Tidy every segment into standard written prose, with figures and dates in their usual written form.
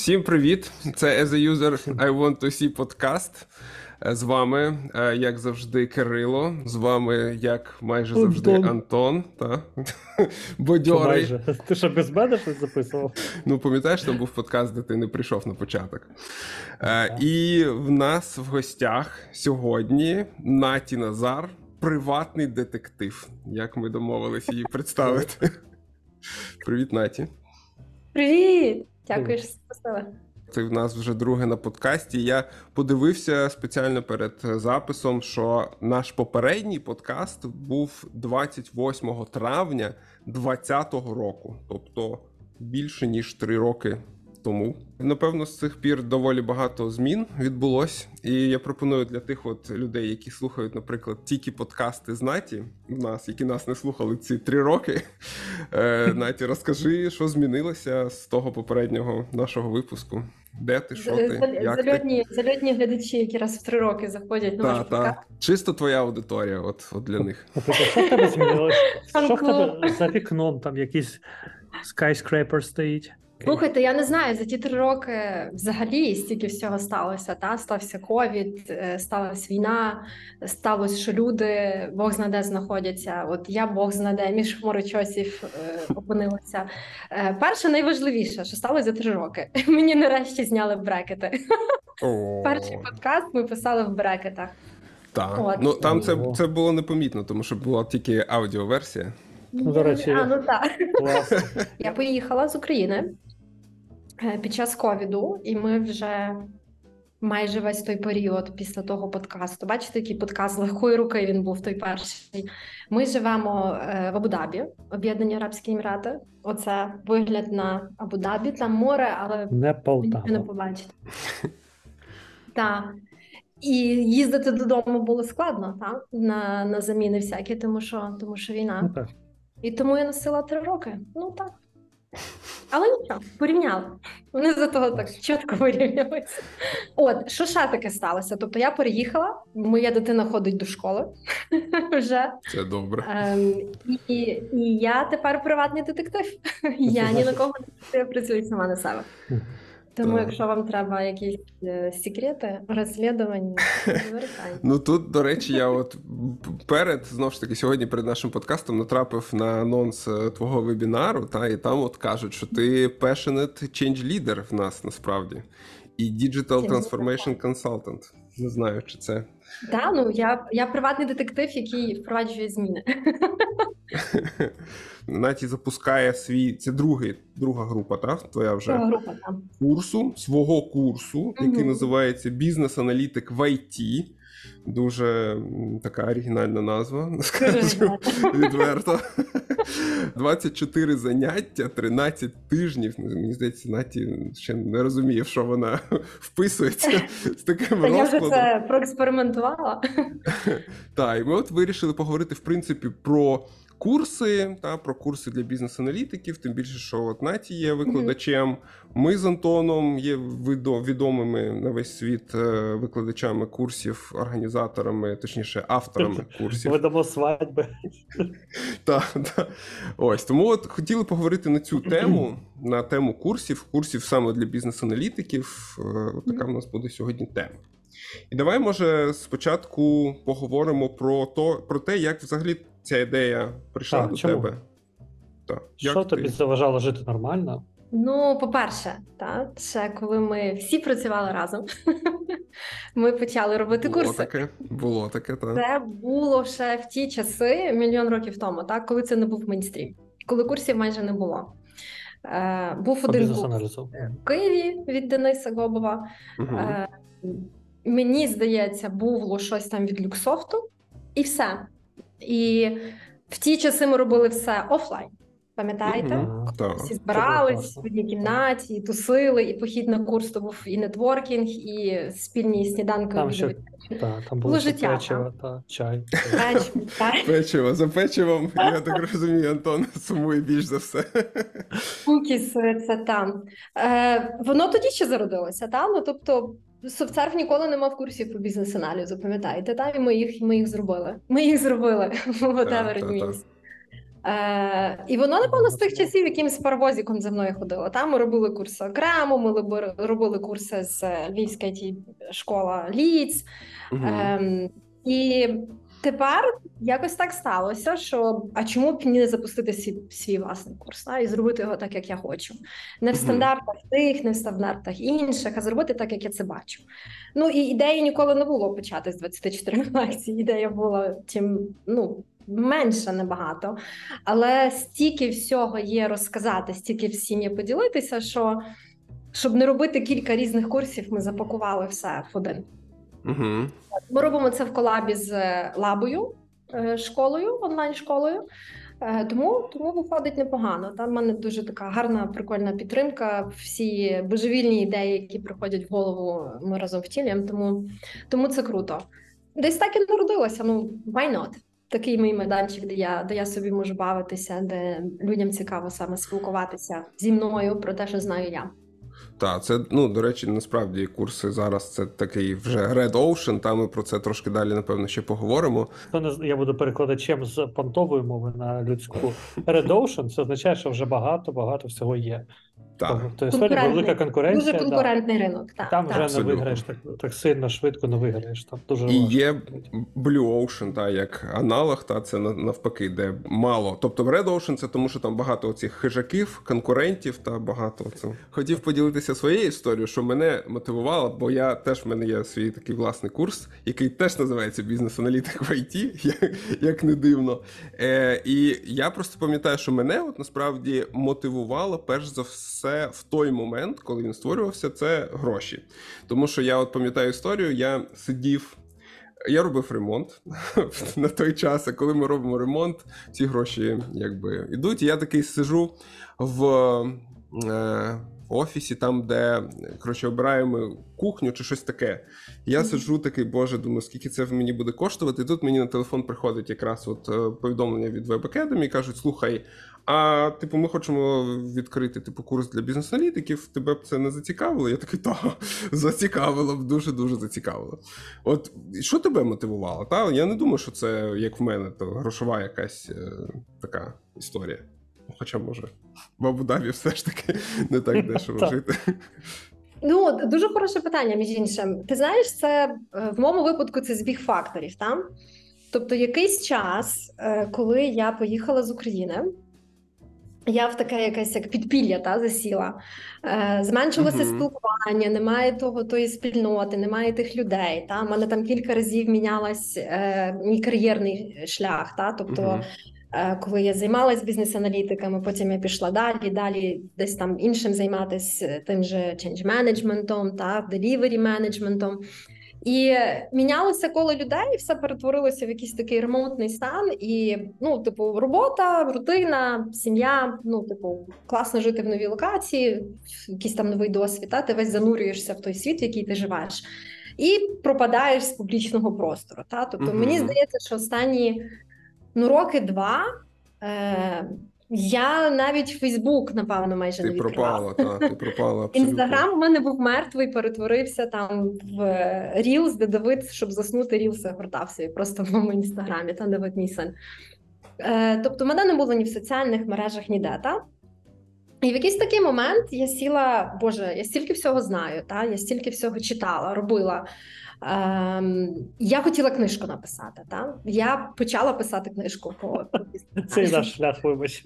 Всім привіт! Це As a User I Want to See подкаст. З вами, як завжди, Кирило. З вами, як майже завжди, Антон. Бадьорий. Що майже? Ти що, без мене щось записував? Ну, пам'ятаєш, там був подкаст, де ти не прийшов на початок. І в нас в гостях сьогодні Наті Назар, приватний детектив. Як ми домовилися її представити. Привіт, Наті. Привіт! Дякую, що запросили. Це в нас вже друге на подкасті. Я подивився спеціально перед записом, що наш попередній подкаст був 28 травня 2020 року. Тобто більше, ніж 3 роки тому. Напевно, з цих пір доволі багато змін відбулось. І я пропоную для тих от людей, які слухають, наприклад, тільки подкасти з Наті, які нас не слухали ці 3 роки. Наті, розкажи, що змінилося з того попереднього нашого випуску. Де ти, що ти, як зальотні глядачі, які раз в 3 роки заходять на ваш подкаст. Чисто твоя аудиторія, от для них. Що в тебе змінилось? Що в тебе за вікном, там якийсь skyscraper стоїть? Слухайте, я не знаю, за ті 3 роки взагалі стільки всього сталося. Стався ковід, сталася війна, сталося, що люди Бог зна де знаходяться. От я Бог зна де між хмарочосів опинилася. Перше, найважливіше, що сталося за 3 роки. Мені нарешті зняли брекети. Перший подкаст ми писали в брекетах. Так, ну там це було непомітно, тому що була тільки аудіоверсія. До речі, так. Я поїхала з України під час ковіду, і ми вже майже весь той період після того подкасту. Бачите, який подкаст з легкої руки він був той перший. Ми живемо в Абу-Дабі, Об'єднані Арабські Емірати. Оце вигляд на Абу-Дабі, там море, але не Полтава. не побачите. Так. І їздити додому було складно, так? На заміни всякі, тому що війна. Ну, так. І тому я носила 3 роки. Ну так. Але нічого, порівняли. Вони за того так чітко вирівнювалися. От, що ще таке сталося? Тобто я переїхала, моя дитина ходить до школи вже. Це добре. І я тепер приватний детектив. Я ні на кого не працюю сама на себе. Тому, якщо вам треба якісь секрети, розслідування, звертайте. Ну тут, до речі, я от знову ж таки, сьогодні перед нашим подкастом натрапив на анонс твого вебінару, і там от кажуть, що ти passionate change leader в нас насправді. І Digital Transformation Consultant. Не знаю, чи це... Так, ну я приватний детектив, який впроваджує зміни. Наті запускає це друга група, так? Твоя вже група, так. Свого курсу, який називається «Бізнес-аналітик в IT». Дуже така оригінальна назва, скажу відверто. 24 заняття, 13 тижнів. Мені здається, Наті ще не розуміє, в що вона вписується з таким розкладом. Я вже це проекспериментувала. Так, і ми от вирішили поговорити, в принципі, про курси, про курси для бізнес-аналітиків, тим більше, що от Наті є викладачем. Ми з Антоном є відомими на весь світ викладачами курсів, організаторами, точніше, авторами курсів. Ведемо свадьби. Так. Ось, тому от хотіли поговорити на цю тему, на тему курсів саме для бізнес-аналітиків. От така в нас буде сьогодні тема. І давай, може, спочатку поговоримо про те, як взагалі ця ідея прийшла до тебе. Що тобі заважало жити нормально? Ну, по-перше, ще коли ми всі працювали разом, ми почали робити курси. Було таке, так. Це було ще в ті часи, мільйон років тому, коли це не був мейнстрім, коли курсів майже не було. Був один курс в Києві від Дениса Гобова. Мені здається, було щось там від Люксофту, і все. І в ті часи ми робили все офлайн. Пам'ятаєте? Всі збирались в одній кімнаті, і тусили, і похід на курс, то був і нетворкінг, і спільні сніданки. Там було життя, печиво та чай. Печиво. За печивом, я так розумію, Антон сумує більш за все. Кукіси, це там. Воно тоді ще зародилося, ну, тобто, SoftServe ніколи не мав курсів по бізнес-аналізу, пам'ятаєте? І ми їх зробили. Ми їх зробили. Whatever it means. І воно, напевно, з тих часів, якимсь паровозиком за мною ходило. Там ми робили курси окремо, ми робили курси з Львівська IT-школа Ліц. І тепер якось так сталося, що а чому б не запустити свій власний курс, і зробити його так, як я хочу. Не в стандартах тих, не в стандартах інших, а зробити так, як я це бачу. Ну, і ідеї ніколи не було почати з 24 лекцій. Ідея була менше набагато. Але стільки всього є розказати, стільки всім є поділитися, що щоб не робити кілька різних курсів, ми запакували все в один. Ми робимо це в колабі з Лабою, школою, онлайн-школою, тому виходить непогано. Там в мене дуже така гарна, прикольна підтримка, всі божевільні ідеї, які приходять в голову, ми разом втілюємо, тому це круто. Десь так і народилося, why not? Такий мій майданчик, де я собі можу бавитися, де людям цікаво саме спілкуватися зі мною про те, що знаю я. Так, це, до речі, насправді курси зараз це такий вже Red Ocean, там ми про це трошки далі, напевно, ще поговоримо. Я буду перекладачем з понтової мови на людську. Red Ocean – це означає, що вже багато всього є. Тобто історія велика конкуренція. Дуже конкурентний ринок. Там вже не виграєш так сильно, швидко не виграєш. Там дуже і є Blue Ocean, як аналог, це навпаки, де мало. Тобто Red Ocean – це тому, що там багато оцих хижаків, конкурентів та багато цього. Хотів поділитися своєю історією, що мене мотивувало, бо в мене є свій такий власний курс, який теж називається «Бізнес-аналітик в IT», як не дивно. І я просто пам'ятаю, що мене насправді мотивувало перш за все в той момент, коли він створювався, це гроші. Тому що я пам'ятаю історію, я робив ремонт на той час, а коли ми робимо ремонт, ці гроші йдуть. І я такий сиджу в офісі, там, де, обираємо кухню чи щось таке. Я сиджу такий, боже, думаю, скільки це мені буде коштувати. І тут мені на телефон приходить якраз повідомлення від Web Academy і кажуть, слухай, ми хочемо відкрити курс для бізнес-аналітиків, тебе б це не зацікавило? Я такий, зацікавило б, дуже-дуже зацікавило. От, що тебе мотивувало? Я не думаю, що це, як в мене, грошова якась така історія. Хоча, може, в Абу-Дабі все ж таки не так дешево жити. Дуже хороше питання, між іншим. Ти знаєш, це в моєму випадку це збіг факторів, так? Тобто якийсь час, коли я поїхала з України, я в таке якесь як підпілля засіла. Зменшилося спілкування, немає тої спільноти, немає тих людей. У мене там кілька разів мінялась мій кар'єрний шлях. Тобто, коли я займалась бізнес-аналітиками, потім я пішла далі десь там іншим займатися тим же change management, delivery management. І мінялося коло людей, все перетворилося в якийсь такий ремонтний стан, і, робота, рутина, сім'я, класно жити в новій локації, якийсь там новий досвід, ти весь занурюєшся в той світ, в який ти живеш, і пропадаєш з публічного простору, Тобто, мені здається, що останні, роки 2, я навіть Фейсбук, напевно, майже не відкривала. Ти пропала, абсолютно. Інстаграм у мене був мертвий, перетворився там в Reels, де Давид, щоб заснути, Reels гортався. І просто в моєму Інстаграмі, Давид мій син. Тобто, мене не було ні в соціальних мережах, ніде, І в якийсь такий момент я сіла, боже, я стільки всього знаю, я стільки всього читала, робила. Я хотіла книжку написати, Я почала писати книжку по Це наш шлях, вибач.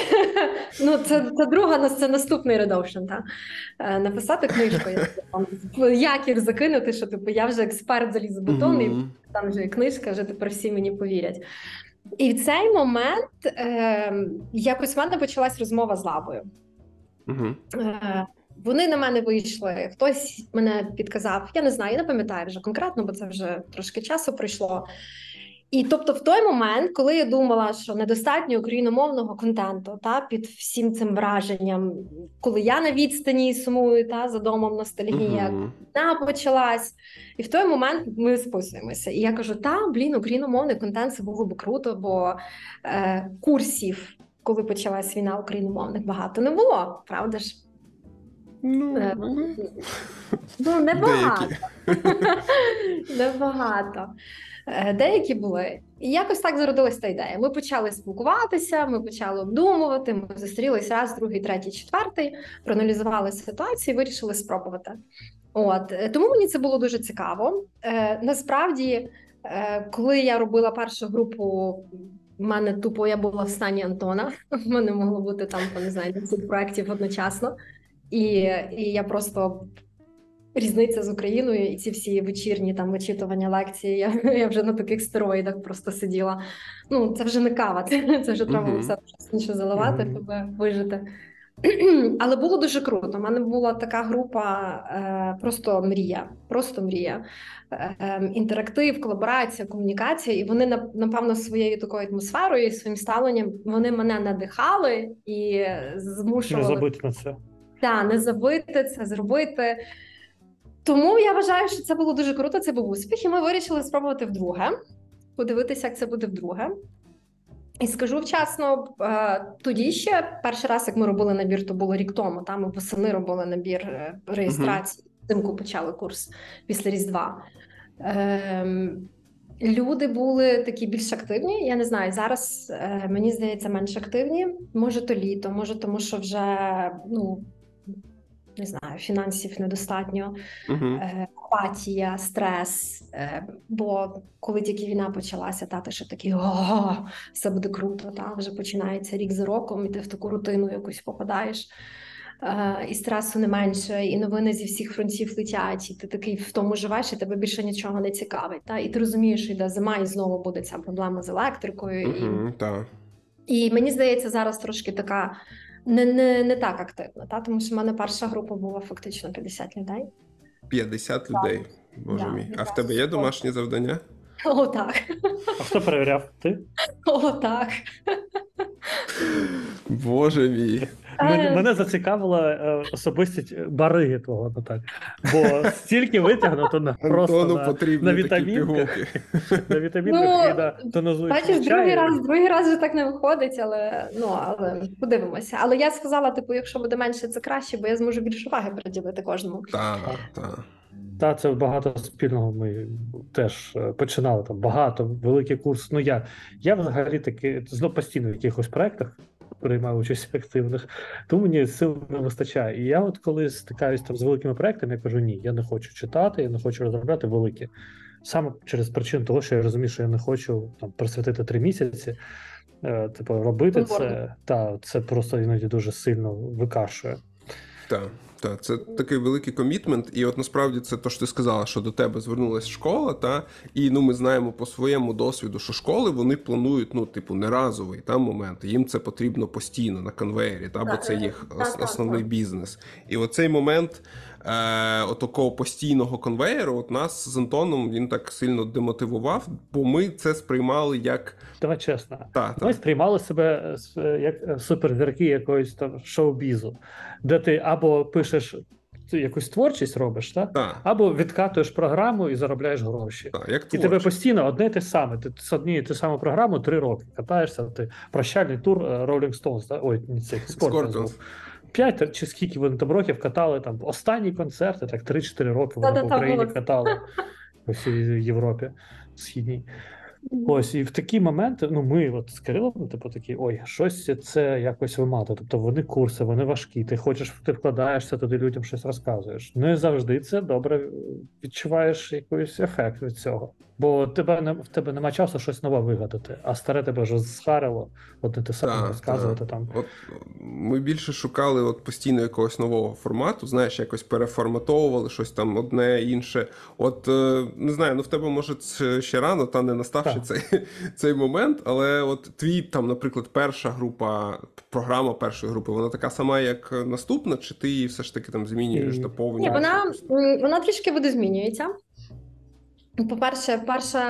Це наступний Red Ocean, Написати книжку, якір закинути, що я вже експерт залізобетон, і там вже книжка, вже тепер всі мені повірять. І в цей момент якось в мене почалась розмова з Лабою. Вони на мене вийшли, хтось мене підказав, я не знаю, я не пам'ятаю вже конкретно, бо це вже трошки часу пройшло. І тобто в той момент, коли я думала, що недостатньо україномовного контенту під всім цим враженням, коли я на відстані сумую за домом ностальгія, вона почалась, і в той момент ми списуємося. І я кажу, україномовний контент, це було б круто, бо курсів, коли почалась війна україномовних, багато не було, правда ж? Небагато. Деякі були. І якось так зародилася та ідея. Ми почали спілкуватися, ми почали обдумувати, ми зустрілись раз, другий, третій, четвертий, проаналізували ситуацію і вирішили спробувати. Тому мені це було дуже цікаво. Насправді, коли я робила першу групу, в мене тупо я була в стані Антона. В мене могло бути там, не знаю, 10 проєктів одночасно. І я просто... Різниця з Україною і ці всі вечірні там вичитування лекції, я вже на таких стероїдах просто сиділа. Ну, це вже не кава, це вже треба все інше заливати, щоб вижити. Але було дуже круто. У мене була така група просто мрія. Інтерактив, колаборація, комунікація. І вони, напевно, своєю такою атмосферою і своїм ставленням, вони мене надихали і змушували... Не забити на це. Так, не забити це, зробити. Тому я вважаю, що це було дуже круто, це був успіх, і ми вирішили спробувати вдруге, подивитися, як це буде вдруге. І скажу вчасно, тоді ще перший раз, як ми робили набір, то було рік тому, там ми восени робили набір реєстрації, взимку почали курс після Різдва. Люди були такі більш активні, я не знаю, зараз, мені здається, менш активні. Може то літо, може тому, що вже, не знаю, фінансів недостатньо, апатія, стрес, бо коли тільки війна почалася, ти ще такий, все буде круто, вже починається рік за роком, і ти в таку рутину якусь попадаєш, і стресу не менше, і новини зі всіх фронтів летять, і ти такий в тому живеш, і тебе більше нічого не цікавить, і ти розумієш, що йде зима, і знову буде ця проблема з електрикою. І мені здається, зараз трошки така не так активно, тому що в мене перша група була фактично 50 людей. 50 людей? Боже мій. А в тебе є домашні завдання? О, так. А хто перевіряв? Ти? О, так. Боже мій. Мене зацікавила особистість бариги твого, так. Бо стільки витягнуто просто на вітамінки. На вітамінках і на тонізуючому чаю. Бачиш, другий раз вже так не виходить, але подивимося. Але я сказала, якщо буде менше, це краще, бо я зможу більше уваги приділити кожному. Так, це багато спільного ми теж починали, там багато, великий курс. Я взагалі таки постійно в якихось проєктах приймаю участь активних, тому мені сил не вистачає. І я от коли стикаюсь там з великими проєктами, я кажу, ні, я не хочу читати, я не хочу розробляти великі. Саме через причину того, що я розумію, що я не хочу там присвятити 3 місяці, робити це, це просто іноді дуже сильно викашує. Так, це такий великий комітмент, і от насправді це те, що ти сказала, що до тебе звернулася школа, і ми знаємо по своєму досвіду, що школи, вони планують, не разовий момент, їм це потрібно постійно на конвеєрі, бо це їх основний бізнес. І оцей момент такого постійного конвеєру нас з Антоном, він так сильно демотивував, бо ми це сприймали як... Давай чесно. Ми сприймали себе як суперзірки якоїсь там шоу-бізу, де ти або пишеш якусь творчість робиш, або відкатуєш програму і заробляєш гроші. І тебе постійно одне й те саме. Ти з однією ту саму програму 3 роки катаєшся, ти прощальний тур Rolling Stones, ой, не цей, Scorpions. 5 чи скільки вони там років катали, там останні концерти, так 3-4 роки вони по Україні катали по всій Європі Східній. Ось, і в такі моменти, ми от з Кирилом, такі, щось це якось вимагає. Тобто вони курси, вони важкі, ти вкладаєшся туди, людям щось розказуєш. Не завжди це добре відчуваєш якийсь ефект від цього. Бо в тебе нема часу щось нове вигадати, а старе тебе вже зхарило, одне те саме розказувати там. От ми більше шукали постійно якогось нового формату, знаєш, якось переформатовували щось там одне, інше. Не знаю, в тебе, може, ще рано, не настав ще цей момент, але твій, наприклад, перша група, програма першої групи, вона така сама, як наступна, чи ти її все ж таки змінюєш, доповнюєш? Ні, вона трішки видозмінюється. По-перше,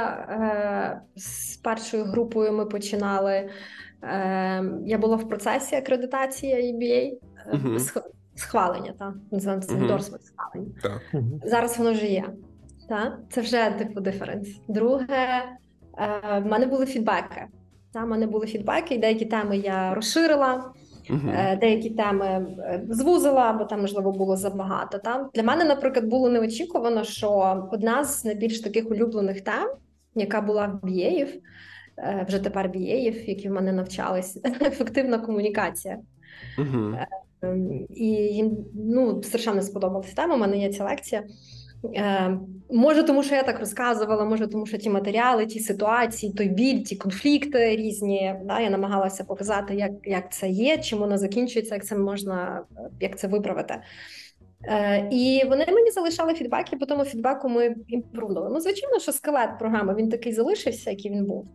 з першою групою ми починали, я була в процесі акредитації EBA, схвалення, називаємо це ендорсмент схвалення. Зараз воно вже є. Це вже диференс. Друге, в мене були фідбеки. І деякі теми я розширила, деякі теми звузила, бо там, можливо, було забагато. Для мене, наприклад, було неочікувано, що одна з найбільш таких улюблених тем яка була в BA-ів, вже тепер BA-ів, які в мене навчались, ефективна комунікація. І їм страшенно сподобалася тема, у мене є ця лекція. Може, тому що я так розказувала, може, тому що ті матеріали, ті ситуації, той біль, ті конфлікти різні, да, я намагалася показати, як це є, чим воно закінчується, як це можна, як це виправити. І вони мені залишали фідбек, і по тому фідбеку ми імпрувнули. Ну, звичайно, що скелет програми, він такий залишився, який він був.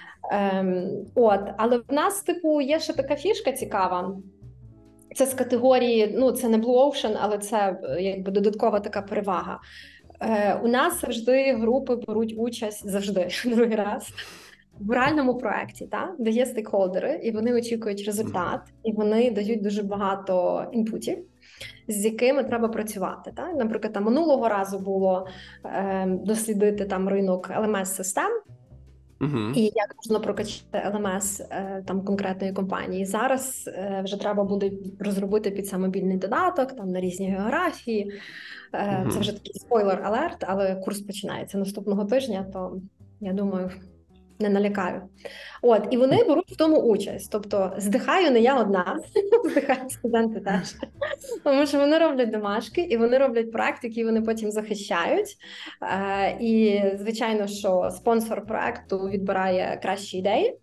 Але в нас, типу, є ще така фішка цікава. Це з категорії, це не Blue Ocean, але це якби додаткова така перевага. У нас завжди групи беруть участь, завжди, другий раз, в реальному проєкті, де є стейкхолдери, і вони очікують результат, і вони дають дуже багато інпутів, з якими треба працювати. Наприклад, там минулого разу було дослідити там ринок LMS-систем, і як можна прокачати LMS там конкретної компанії. Зараз вже треба буде розробити під це мобільний додаток там на різні географії. Це вже такий спойлер-алерт, але курс починається наступного тижня, то я думаю, не налякаю. І вони беруть в тому участь. Тобто здихаю не я одна, здихають студенти теж. Тому що вони роблять домашки, і вони роблять проект, який вони потім захищають. І, звичайно, що спонсор проекту відбирає кращі ідеї.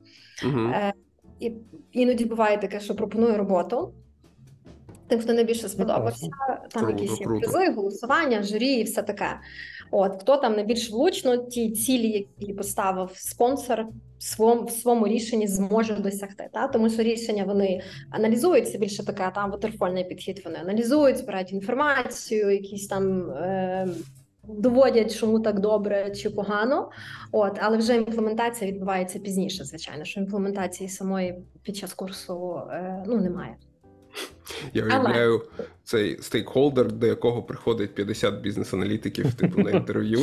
І іноді буває таке, що пропонує роботу тим, хто найбільше сподобався. Там якісь призи, голосування, журі і все таке. Хто там найбільш влучно ті цілі, які поставив спонсор, в своєму рішенні зможе досягти. Тому що рішення вони аналізують, це більше така там ватерфольний підхід, вони аналізують, збирають інформацію, якісь там доводять, чому так добре чи погано. Але вже імплементація відбувається пізніше, звичайно, що імплементації самої під час курсу немає. Я уявляю цей стейкхолдер, до якого приходить 50 бізнес-аналітиків типу на інтерв'ю.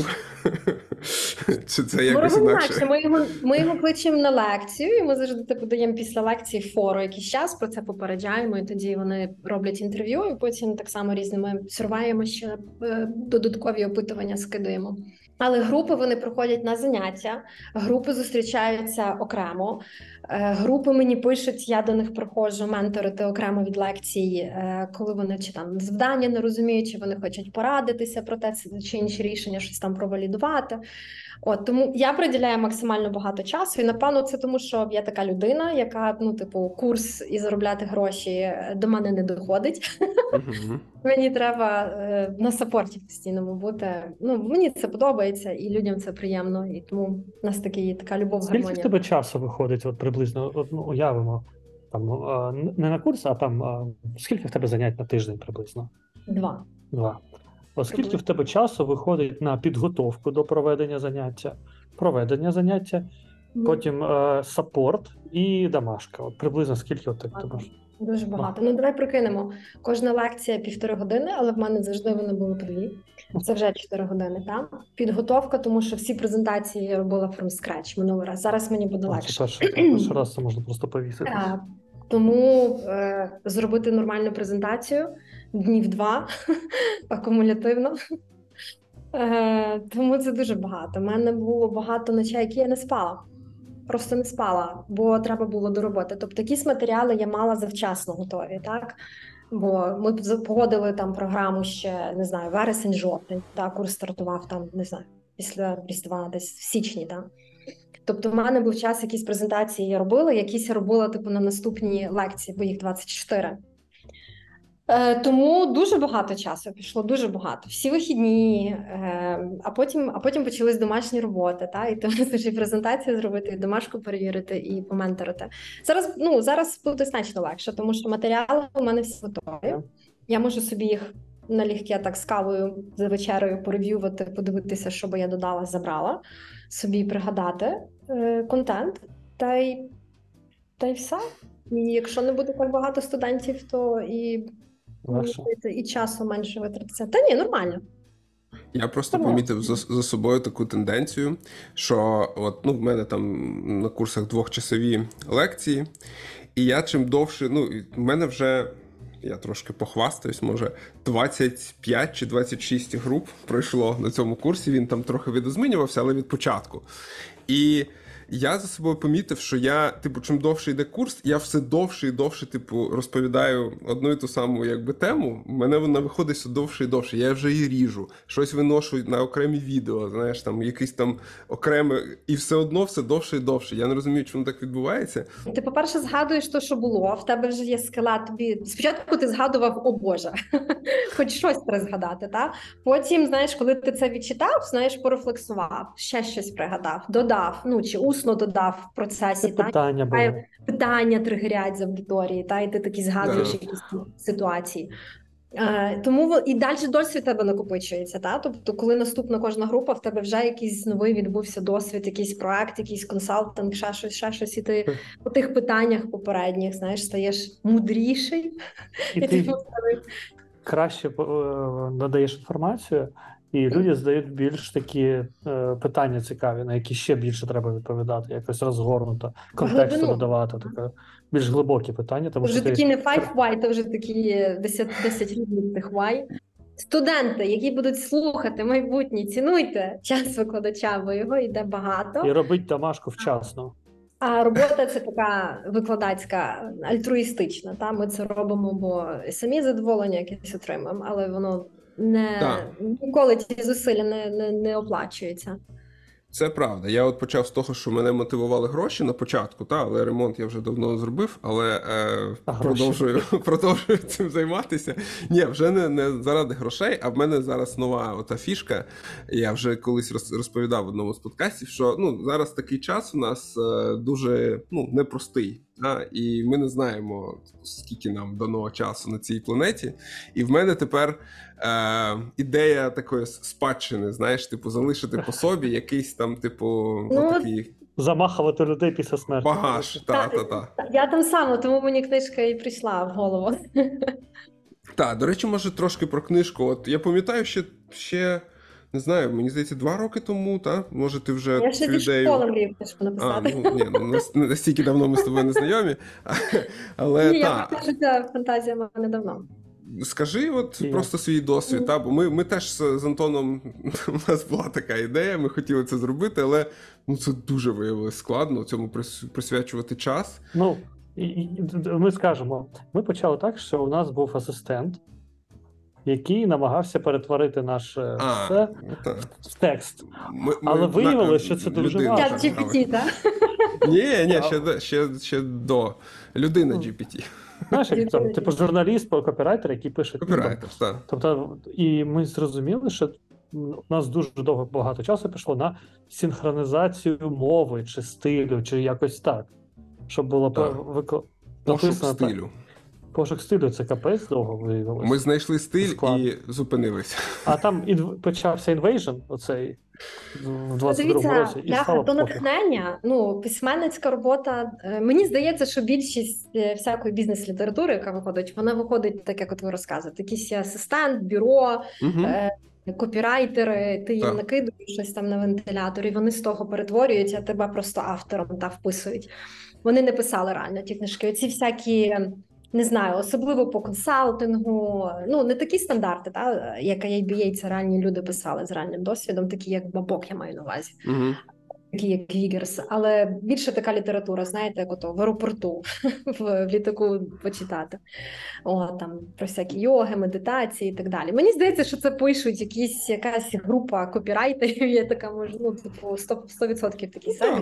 Чи це якось інакше? Ми його кличемо на лекцію, і ми завжди даємо після лекції фору якийсь час, про це попереджаємо, і тоді вони роблять інтерв'ю, і потім так само різними сурваємо ще додаткові опитування скидуємо. Але групи вони проходять на заняття, групи зустрічаються окремо, групи мені пишуть, я до них приходжу менторити окремо від лекцій, коли вони чи там завдання не розуміють, чи вони хочуть порадитися про те, чи інші рішення, щось там провалідувати. Тому я приділяю максимально багато часу, і напевно це тому, що я така людина, яка, курс і заробляти гроші до мене не доходить. Мені треба на сапорті постійному бути. Мені це подобається, і людям це приємно, і тому в нас така любов, гармонія. Скільки в тебе часу виходить, приблизно, уявимо, там, не на курс, а там, скільки в тебе занять на тиждень приблизно? 2. Оскільки в тебе часу виходить на підготовку до проведення заняття, потім саппорт і домашка. Приблизно скільки ти можеш? Дуже багато. Давай прикинемо. Кожна лекція 1,5 години, але в мене завжди вони були по 2. Це вже 4 години. Підготовка, тому що всі презентації я робила from scratch минулий раз. Зараз мені буде легше. Перший раз це можна просто повісити. Тому зробити нормальну презентацію днів 2 акумулятивно. Тому це дуже багато. У мене було багато ночей, які я не спала. Просто не спала, бо треба було до роботи. Тобто якісь матеріали я мала завчасно готові, так? Бо ми погодили там програму ще, не знаю, вересень-жовтень, курс стартував там, не знаю, після Різдва, десь в січні, так? Тобто в мене був час, якісь презентації я робила, якісь я робила на наступні лекції, бо їх 24. Тому дуже багато часу пішло, дуже багато. Всі вихідні, а потім почались домашні роботи, і тому і презентацію зробити, і домашку перевірити, і поменторити. Зараз буде значно легше, тому що матеріали у мене всі готові. Я можу собі їх налегке так з кавою за вечерею порев'ювати, подивитися, що би я додала, забрала, собі пригадати контент, та й все. І якщо не буде так багато студентів, то і часу менше витратиться. Та ні, нормально. Я просто помітив за собою таку тенденцію, що в мене там на курсах 2-часові лекції, і я чим довше, в мене вже я трошки похвастаюсь, може 25 чи 26 груп пройшло на цьому курсі, він там трохи видозмінювався, але від початку. І я за собою помітив, що я, чим довше йде курс, я все довше і довше, розповідаю одну і ту саму, тему. У мене вона виходить все довше і довше. Я вже її ріжу, щось виношу на окремі відео, знаєш, там якийсь там окреме, і все одно все довше і довше. Я не розумію, чому так відбувається. Ти, по-перше, згадуєш те, що було, в тебе вже є скелет, тобі спочатку ти згадував, о Боже, хоч щось треба згадати, та? Потім, знаєш, коли ти це відчитав, знаєш, порефлексував, ще щось пригадав, додав, чи усно додав в процесі. Питання тригерять з аудиторії, і ти такі згадуєш якісь ситуації. Тому і далі досвід тебе накопичується. Тобто, коли наступна кожна група, в тебе вже якийсь новий відбувся досвід, якийсь проект, якийсь консалтинг, ще щось, і ти по тих питаннях попередніх, знаєш, стаєш мудріший. І ти краще надаєш інформацію, і люди задають більш такі питання цікаві, на які ще більше треба відповідати, якось розгорнуто, контексту надавати, таке більш глибокі питання. Тому вже такі не 5 why, то вже такі 10 рівнів тих why. Студенти, які будуть слухати майбутні, цінуйте час викладача, бо його йде багато. І робіть домашку вчасно. А робота це така викладацька, альтруїстична. Ми це робимо, бо самі задоволення якесь отримаємо, але воно ніколи ті зусилля не оплачується. Це правда. Я почав з того, що мене мотивували гроші на початку, але ремонт я вже давно зробив, але продовжую цим займатися. Ні, вже не заради грошей, а в мене зараз нова ота фішка. Я вже колись розповідав в одному з подкастів, що зараз такий час у нас дуже непростий. І ми не знаємо, скільки нам дано часу на цій планеті. І в мене тепер ідея такої спадщини, знаєш, залишити по собі якийсь там, такий... Замахувати людей після смерті. Багаж, та. Я там сама, тому мені книжка і прийшла в голову. Так, до речі, може трошки про книжку. От я пам'ятаю, ще не знаю, мені здається, 2 роки тому, може ти вже я ще зі школи мрію книжку написати. Не настільки давно ми з тобою не знайомі. Але, я покажу, ця фантазія в мене давно. Скажи просто свій досвід, бо ми теж з Антоном, у нас була така ідея, ми хотіли це зробити, але це дуже виявилось складно, цьому присвячувати час. Ми скажемо, ми почали так, що у нас був асистент, який намагався перетворити наше все в текст. Але виявилося, що це дуже важко. Чат GPT, так? Ні, ще до людина GPT. Знаєш, як журналіст, копірайтер, який пише. Копірайтер, так. Тобто, і ми зрозуміли, що у нас дуже багато часу пішло на синхронізацію мови, чи стилю, чи якось так. Щоб було написано стилю. Пошук стилю – це капець довго виявилося. Ми знайшли стиль і зупинилися. А там почався Invasion, оцей, в 22-му році. І стало до натхнення, письменницька робота. Мені здається, що більшість всякої бізнес-літератури, яка виходить, вона виходить так, як ви розказуєте. Якийсь асистент, бюро, копірайтери, ти їм накидуєш щось там на вентиляторі, вони з того перетворюють, а тебе просто автором вписують. Вони не писали реально ті книжки. Оці всякі... Не знаю, особливо по консалтингу, не такі стандарти, як ABA, це реальні люди писали з реальним досвідом, такі як Бабок, я маю на увазі, такі як Вігерс, але більше така література, знаєте, як ото в аеропорту, в літаку почитати. Там про всякі йоги, медитації і так далі. Мені здається, що це пишуть якась група копірайтерів, є така, може, 100% такі самі.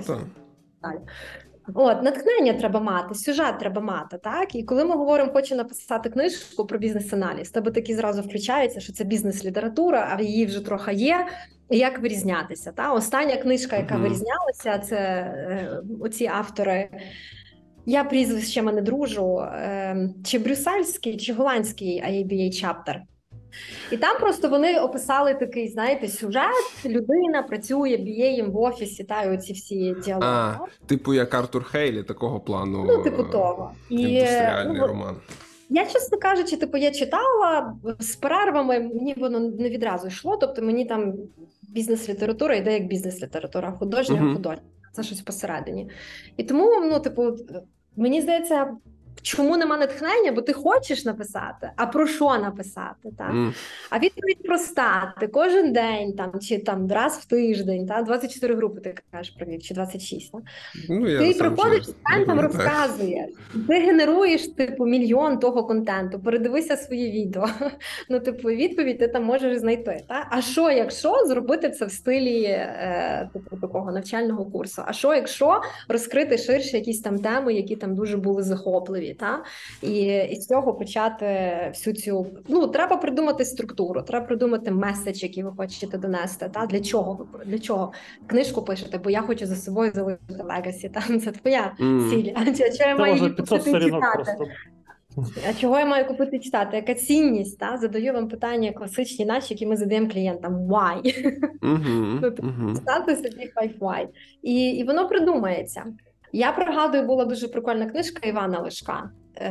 Натхнення треба мати, сюжет треба мати, так? І коли ми говоримо, хочу написати книжку про бізнес-аналіз, тебе такі зразу включаються, що це бізнес-література, а її вже трохи є, і як вирізнятися, так? Остання книжка, яка вирізнялася, це оці автори, я прізвищами не дружу, чи брюссельський, чи голландський ABA chapter. І там просто вони описали такий, знаєте, сюжет, людина працює BA в офісі, і оці всі діалоги. Типу як Артур Хейлі, такого плану. Типу того. Індустріальний роман. Я, чесно кажучи, я читала з перервами, мені воно не відразу йшло, тобто мені там бізнес-література йде як бізнес-література, художня. Це щось посередині. І тому, мені здається, чому нема натхнення? Бо ти хочеш написати, а про що написати? Так? А відповідь проста. Ти кожен день там, чи там раз в тиждень, так? 24 групи ти кажеш провів, чи 26. Так? Ти приходиш, там розказуєш. Ти генеруєш, типу, мільйон того контенту. Передивися свої відео. Ну, типу, відповідь ти там можеш знайти. Так? А що, якщо зробити це в стилі типу, такого навчального курсу? А що, якщо розкрити ширше якісь там теми, які там дуже були захопливі? Та? І з цього почати всю цю... Ну, треба придумати структуру, треба придумати меседж, який ви хочете донести. Та? Для чого книжку пишете? Бо я хочу за собою залишити легасі. Це твоя ціль. А чого я маю її купити читати? А чого я маю купити читати? Яка цінність? Та? Задаю вам питання класичні наші, які ми задаємо клієнтам. Why? Ставте собі 5 why. І воно придумається. Я пригадую, була дуже прикольна книжка Івана Лишка,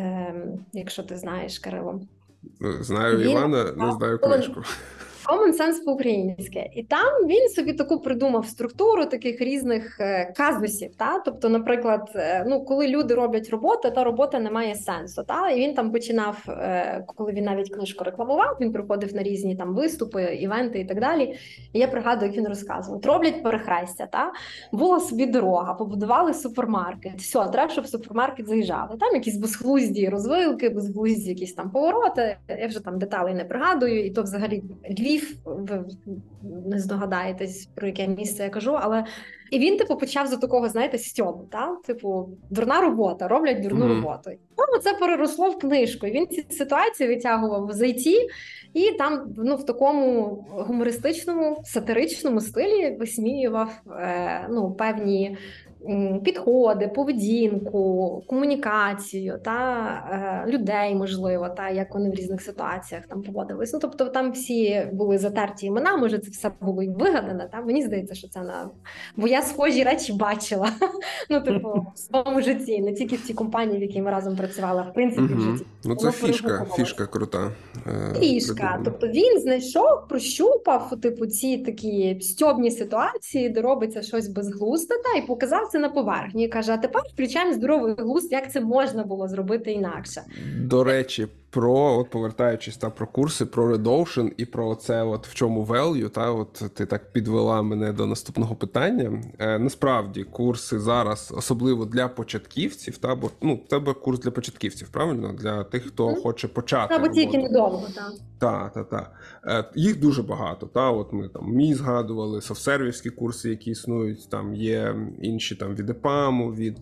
якщо ти знаєш, Кирило. Знаю Івана, не знаю книжку. Common Sense по-українськи. І там він собі таку придумав структуру таких різних казусів. Та? Тобто, наприклад, ну, коли люди роблять роботу, та робота не має сенсу. Та? І він там починав, коли він навіть книжку рекламував, він приходив на різні там виступи, івенти і так далі. І я пригадую, як він розказував. Роблять перехрестя, та? Була собі дорога, побудували супермаркет. Все, треба, щоб в супермаркет заїжджали. Там якісь безглузді розвилки, безглузді якісь там повороти. Я вже там деталей не пригадую, і то взагалі Львів, ви не здогадаєтесь, про яке місце я кажу, але і він, типу, почав з такого, знаєте, стьобу, та? Типу, дурна робота, роблять дурну роботу. І це переросло в книжку, і він ці ситуації витягував з IT, і там, ну, в такому гумористичному, сатиричному стилі висміював, ну, певні підходи, поведінку, комунікацію та людей, можливо, та як вони в різних ситуаціях там поводились. Ну, тобто там всі були затерті імена, може це все було і вигадане, та мені здається, що це бо я схожі речі бачила, ну, типу, в своєму житті, не тільки в цій компанії, в якій ми разом працювали, а в принципі в житті. Ну, це фішка крута. Фішка, тобто він знайшов, прощупав, типу, ці такі стьобні ситуації, де робиться щось безглузде, та, і показав це на поверхні. І каже, а тепер включаємо здоровий глузд, як це можна було зробити інакше. До речі, от повертаючись про курси, про Red і про це, от в чому value, та, от ти так підвела мене до наступного питання. Насправді, курси зараз, особливо для початківців, та, бо, ну, в тебе курс для початківців, правильно? Для тих, хто хоче почати або тільки недовго, так. Так. Їх дуже багато, та, от ми там мій згадували, софтсервівські курси, які існують, там є інші там від EPAM, від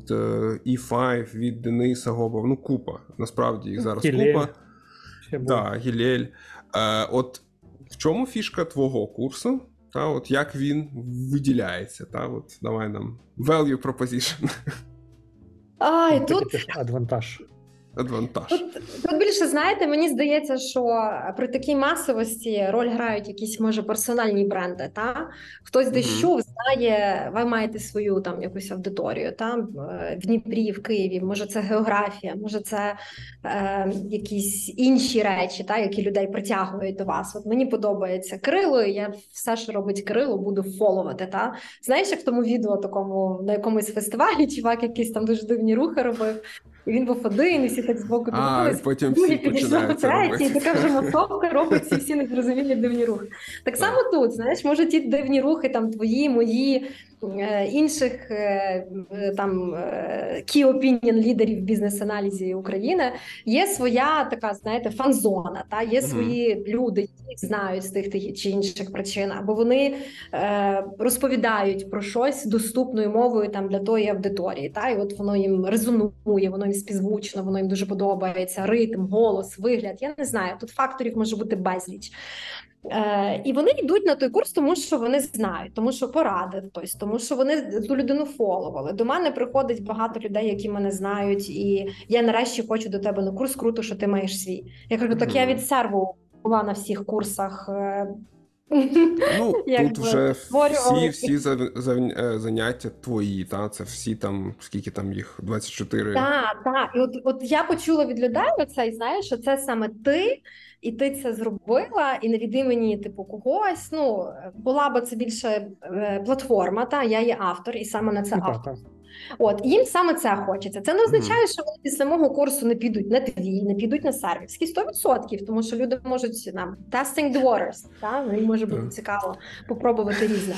E5, від Дениса Гобова, ну, купа, насправді їх зараз купа. Так, Гілель. От в чому фішка твого курсу? Та, от як він виділяється? Та, от давай нам value proposition. Тут адвантаж. Тут більше, знаєте, мені здається, що при такій масовості роль грають якісь, може, персональні бренди, та? Хтось десь чув, знає, ви маєте свою там якусь аудиторію, та? В Дніпрі, в Києві, може це географія, може це якісь інші речі, та? Які людей притягують до вас. От мені подобається Кирило, і я все, що робить Кирило, буду фоловати, та? Знаєш, як в тому відео такому, на якомусь фестивалі, чувак якийсь там дуже дивні рухи робив, і він був один, і всі так збоку дивились. Потім всі починають це робити. І така вже масовка робить всі незрозумілі дивні рухи. Так само тут, знаєш, може ті дивні рухи, там твої, мої, інших там key opinion лідерів бізнес-аналізі України, є своя така, знаєте, фан-зона, та? Є свої люди, які знають з тих чи інших причин, або вони розповідають про щось доступною мовою там для тої аудиторії, та? І от воно їм резонує, воно їм співзвучно, воно їм дуже подобається, ритм, голос, вигляд, я не знаю, тут факторів може бути безліч. І вони йдуть на той курс, тому що вони знають, тому що порадив хтось, тому що вони ту людину фоловали. До мене приходить багато людей, які мене знають, і я нарешті хочу до тебе на курс, круто, що ти маєш свій. Я кажу, так я від серву була на всіх курсах Ну, тут вже всі заняття твої, та? Це всі там, скільки там їх, 24? Так. І от я почула від людей оцей, знаєш, що це саме ти, і ти це зробила, і не від імені, типу, когось. Ну, була б це більше платформа, та? Я є автор, і саме на це автор. От, їм саме це хочеться. Це не означає, що вони після мого курсу не підуть на твій, не підуть на сервіс. 100%, тому що люди можуть нам testing the waters, їм може бути цікаво попробувати різне.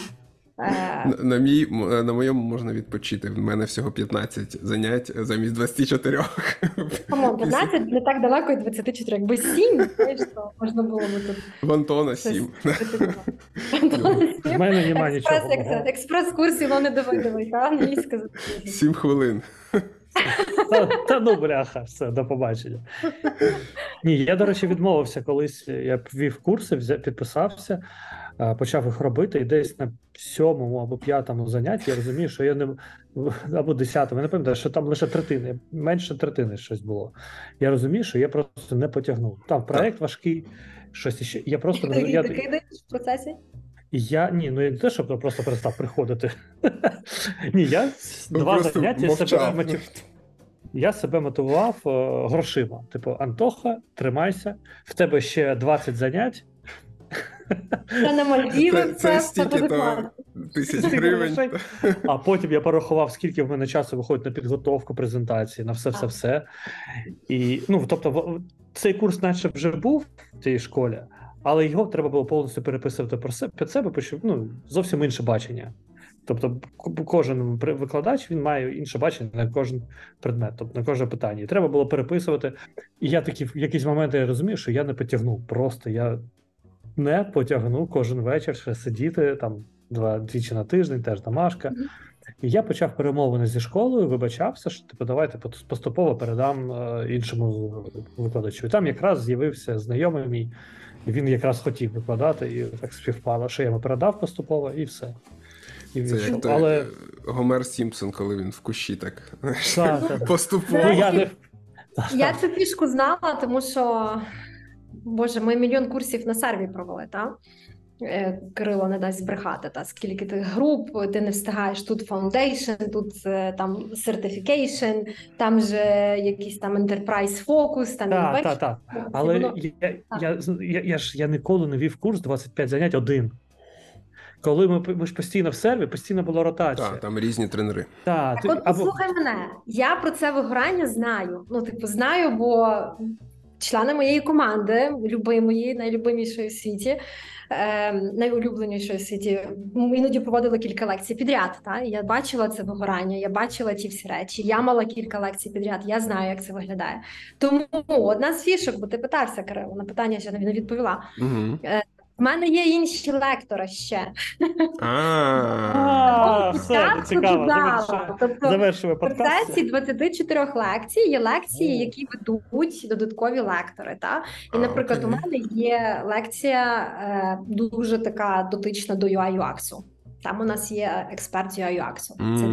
На моєму можна відпочити. В мене всього 15 занять замість 24. Камон, 15 не так далеко і 24. Якби 7, знаєш, то можна було би тут. В Антона 7. В мене немає нічого. Експрес-курсів, ну не давай, англійська. 7 хвилин. Та ну, бляха, все, до побачення. Ні, я, до речі, відмовився колись, я ввів курси, підписався, почав їх робити, і десь на 7-му або 5-му занятті я розумію, що я не, або 10-му, я не пам'ятаю, що там лише третини, менше третини щось було. Я розумію, що я просто не потягнув. Там проєкт важкий, щось іще. Я просто Ти кидаєш в процесі? Ні, ну я не те, щоб просто перестав приходити. Ні, я 2 заняття я себе мотивував грошима. Типу, Антоха, тримайся, в тебе ще 20 занять. Це на Мальдіви, це стільки-то тисяч гривень. А потім я порахував, скільки в мене часу виходить на підготовку презентації, на все. І, ну, тобто, цей курс наче вже був в цій школі, але його треба було повністю переписувати під себе, бо зовсім інше бачення. Тобто кожен викладач, він має інше бачення на кожен предмет, тобто на кожне питання. І треба було переписувати. І я такі в якісь моменти я розумію, що я не потягнув. Просто я не потягну кожен вечір ще сидіти, там двічі на тиждень, теж домашка. І я почав перемовини зі школою, вибачався, що типу, давайте поступово передам іншому викладачу. І там якраз з'явився знайомий мій, і він якраз хотів викладати, і так співпало, що я йому передав поступово, і все. Це як той Гомер Сімпсон, коли він в кущі так поступово. Я цю фішку знала, тому що, боже, ми 1 мільйон курсів на серві провели, так? Кирило не дасть збрехати, скільки ти груп, ти не встигаєш, тут foundation, тут там certification, там же якийсь там enterprise focus, там Так. Але я ніколи не вів курс 25 занять один. Коли ми ж постійно в серві, постійно була ротація. Так, там різні тренери. Так, от послухай мене, я про це вигорання знаю. Ну, типу, знаю, бо члени моєї команди, любимої, найлюбимішої в світі, найулюбленішої в світі, іноді проводили кілька лекцій підряд. Я бачила це вигорання, я бачила ті всі речі, я мала кілька лекцій підряд, я знаю, як це виглядає. Тому одна з фішок, бо ти питався, Кирило, на питання ще не відповіла. В мене є інші лектори ще. Все, цікаво. Завершуємо подкаст. В процесі 24 лекцій є лекції, які ведуть додаткові лектори. І, наприклад, у мене є лекція дуже така дотична до UI-UX. Там у нас є експерт з UI-UX.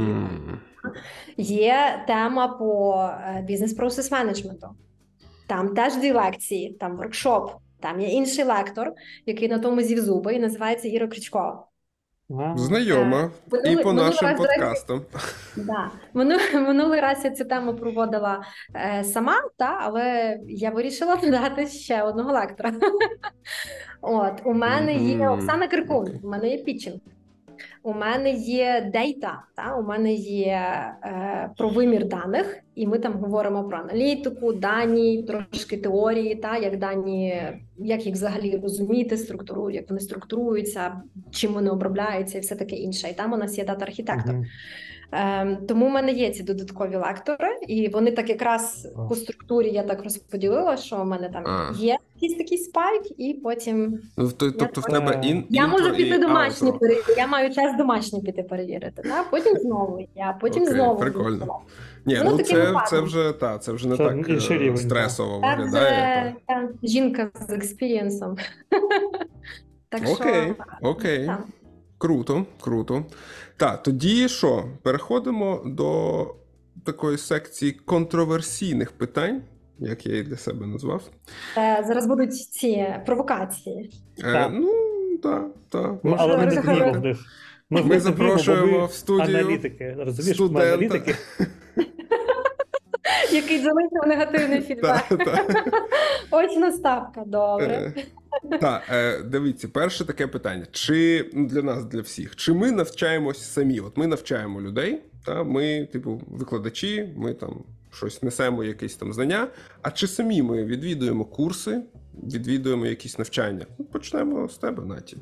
Є тема по бізнес-процес менеджменту. Там теж 2 лекції, там воркшоп. Там є інший лектор, який на тому зів зуби, і називається Іра Крючкова. Знайома. І по нашим подкастам. Минулий раз я цю тему проводила сама, але я вирішила додати ще одного лектора. У мене є Оксана Киркун, у мене є пітчинг. У мене є дейта, у мене є про вимір даних, і ми там говоримо про аналітику, дані, трошки теорії, як дані, як їх взагалі розуміти, як вони структуруються, чим вони обробляються і все таке інше. І там у нас є дата-архітектор. Тому в мене є ці додаткові лектори, і вони так якраз по структурі я так розподілила, що в мене там є якийсь такий спайк, і потім... Тобто в тебе я можу піти домашні перевірити, я маю час домашні піти перевірити, потім знову, знову. Прикольно. Ні, це вже не так стресово виглядає. Жінка з експірієнсом. Окей. Круто. Так, тоді що? Переходимо до такої секції контроверсійних питань, як я її для себе назвав. Зараз будуть ці провокації. так. Але ми не вміємо в них. Ми запрошуємо в студію аналітики. Розумієш, студента. Аналітики. Який залишив негативний фідбек. Очна ставка, добре. Так, дивіться, перше таке питання. Чи для нас, для всіх, чи ми навчаємось самі? От ми навчаємо людей, ми, викладачі, ми там щось несемо, якісь там знання, а чи самі ми відвідуємо курси, відвідуємо якісь навчання? Почнемо з тебе, Наті.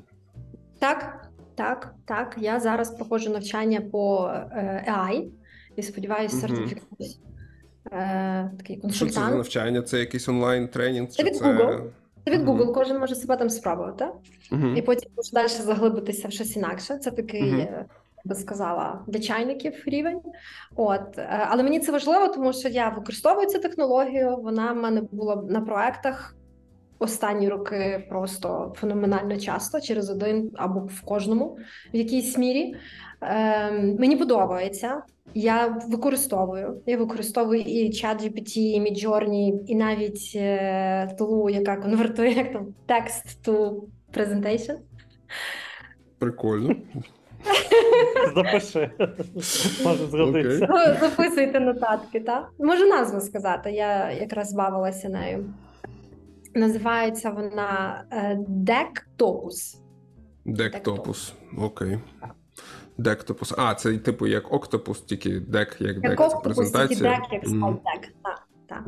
Так. Я зараз проходжу навчання по AI і сподіваюся, сертифікуюсь. Такий консультант. Що це за навчання? Це якийсь онлайн-тренінг? Це від Google. Це від Google, кожен може себе там спробувати. І потім може далі заглибитися в щось інакше. Це такий, я би сказала, для чайників рівень. Але мені це важливо, тому що я використовую цю технологію, вона в мене була на проектах останні роки просто феноменально часто, через один або в кожному в якійсь мірі. Мені подобається. Я використовую і ChatGPT, і Midjourney, і навіть тулу, яка конвертує як там text to presentation. Прикольно. Запиши. Може згодитися. Записуйте нотатки, так? Можу назву сказати, я якраз бавилася нею. Називається вона Dectopus. Dectopus, окей. Dectopus. А, це типу як Octopus, тільки дек, як дек, це презентація. Тільки дек, як слайд-дек, так.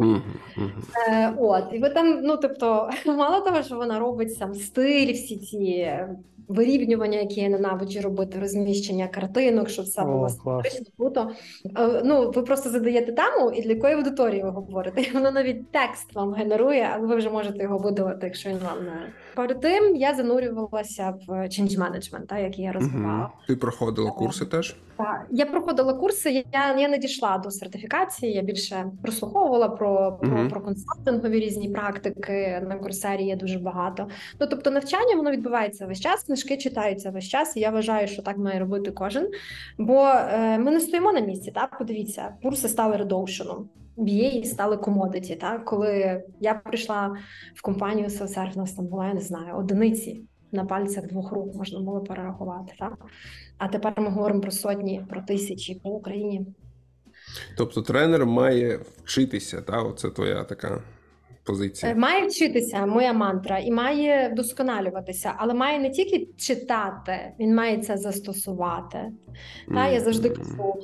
І ви там, мало того, що вона робить сам стиль, всі ці вирівнювання, які я ненавиджу робити, розміщення картинок, щоб все було симметрично, круто. Ви просто задаєте тему, і для якої аудиторії ви говорите. І воно навіть текст вам генерує, але ви вже можете його видалити, якщо він вам не... Перед тим я занурювалася в change management, який я розвивала. Ти проходила курси теж? Так, я проходила курси, я не дійшла до сертифікації, я більше прослуховувала про консалтингові різні практики, на Курсері є дуже багато. Тобто навчання, воно відбувається весь час, книжки читаються весь час, і я вважаю, що так має робити кожен, бо ми не стоїмо на місці, так? Подивіться, курси стали редоушеном. BA стали комодиті, так? Коли я прийшла в компанію Self-Serve, у нас там була, я не знаю, одиниці на пальцях 2 рук можна було перерахувати, так? А тепер ми говоримо про сотні, про тисячі по Україні. Тобто тренер має вчитися, так? Оце твоя така позиція. Має вчитися, моя мантра, і має вдосконалюватися, але має не тільки читати, він має це застосувати. Я завжди кажу,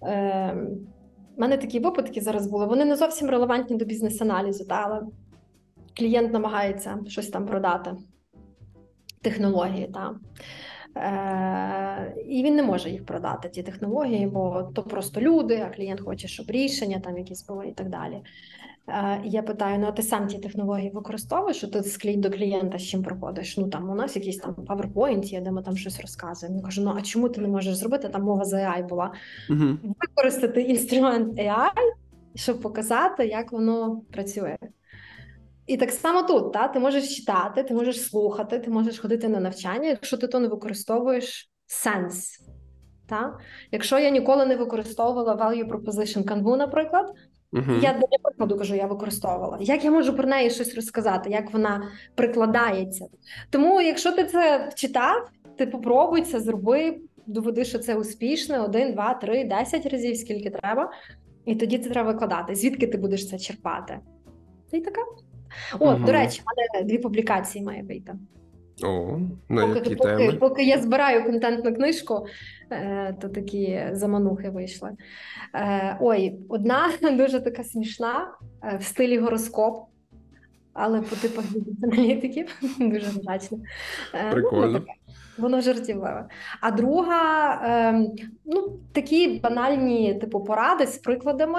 в мене такі випадки зараз були, вони не зовсім релевантні до бізнес-аналізу, але клієнт намагається щось там продати, технології, і він не може їх продати, ті технології, бо то просто люди, а клієнт хоче, щоб рішення там якісь були і так далі. І я питаю, а ти сам ті технології використовуєш, що ти до клієнта з чим проходиш? У нас якийсь там PowerPoint є, де ми там щось розказуємо. Я кажу, а чому ти не можеш зробити? Там мова за AI була. Використати інструмент AI, щоб показати, як воно працює. І так само тут, ти можеш читати, ти можеш слухати, ти можеш ходити на навчання, якщо ти то не використовуєш сенс. Якщо я ніколи не використовувала value proposition Canva, наприклад, я для прикладу кажу, я використовувала. Як я можу про неї щось розказати, як вона прикладається? Тому, якщо ти це читав, ти попробуй це, зроби, доведи, що це успішно, 1, 2, 3, 10 разів, скільки треба, і тоді це треба викладати. Звідки ти будеш це черпати? І така. До речі, в мене 2 публікації має вийти. Які теми? Поки я збираю контентну книжку, то такі заманухи вийшли. Одна дуже така смішна, в стилі гороскоп, але по типах бізнес-аналітиків, дуже вдачно. Прикольно. Воно жартівливе. А друга, такі банальні поради з прикладами,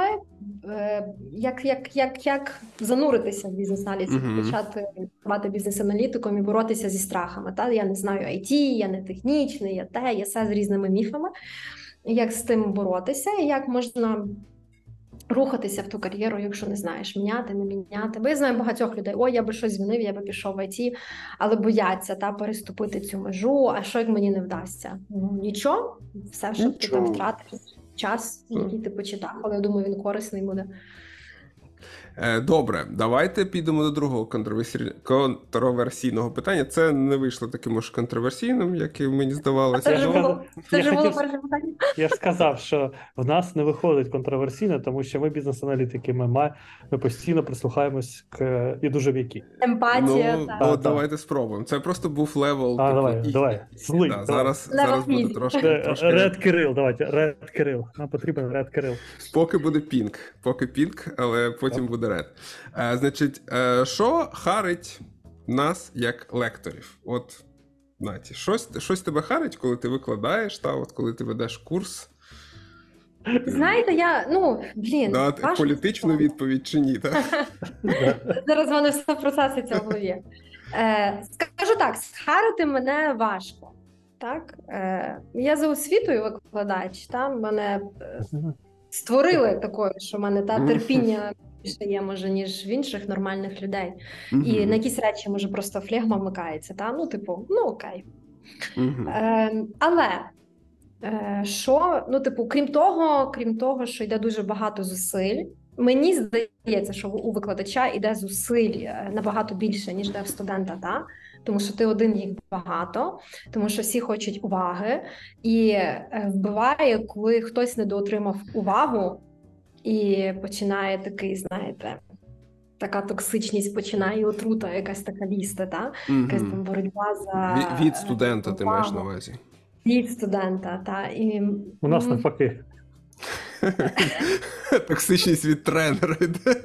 як зануритися в бізнес-аналіз, почати бути бізнес-аналітиком і боротися зі страхами. Я не знаю IT, я не технічний, я все з різними міфами. Як з тим боротися і як можна рухатися в ту кар'єру, якщо не знаєш, міняти, не міняти. Бо я знаю багатьох людей, я би щось змінив, я би пішов в IT, але бояться переступити цю межу, а що як мені не вдасться? Нічого, все, що ти там втратиш час, який ти почитав, але я думаю, він корисний буде. Добре, давайте підемо до другого контроверсійного питання. Це не вийшло таким уж контроверсійним, як і мені здавалося. Це ж було перше питання. Я ж сказав, що в нас не виходить контроверсійно, тому що ми бізнес-аналітики, ми постійно прислухаємось і дуже м'які. Емпатія. Давайте спробуємо. Це просто був левел. Давай. Злий. Зараз буде трошки. Ред Кирил, давайте, Ред Кирил. Нам потрібен Ред Кирил. Поки буде пінк, але потім буде ред. Значить, що харить нас як лекторів? От, Наті, щось тебе харить, коли ти викладаєш, коли ти ведеш курс? Знаєте, політичну відповідь чи ні, так? Зараз в мене все процеситься в голові. Скажу так, схарити мене важко. Так? Я за освітою викладач, мене створили такою, що в мене терпіння більше є, може, ніж в інших нормальних людей. І на якісь речі, може, просто флегма вмикається. Окей. Але крім того, що йде дуже багато зусиль, мені здається, що у викладача йде зусиль набагато більше, ніж де в студента, тому що ти один, їх багато, тому що всі хочуть уваги, і вбиває, коли хтось недоотримав увагу, і починає такий, знаєте, така токсичність починає, отрута якась така лізти, якась там боротьба за... Від студента увагу. Ти маєш на увазі? Від студента, І... У нас навпаки. Токсичність від тренера йде.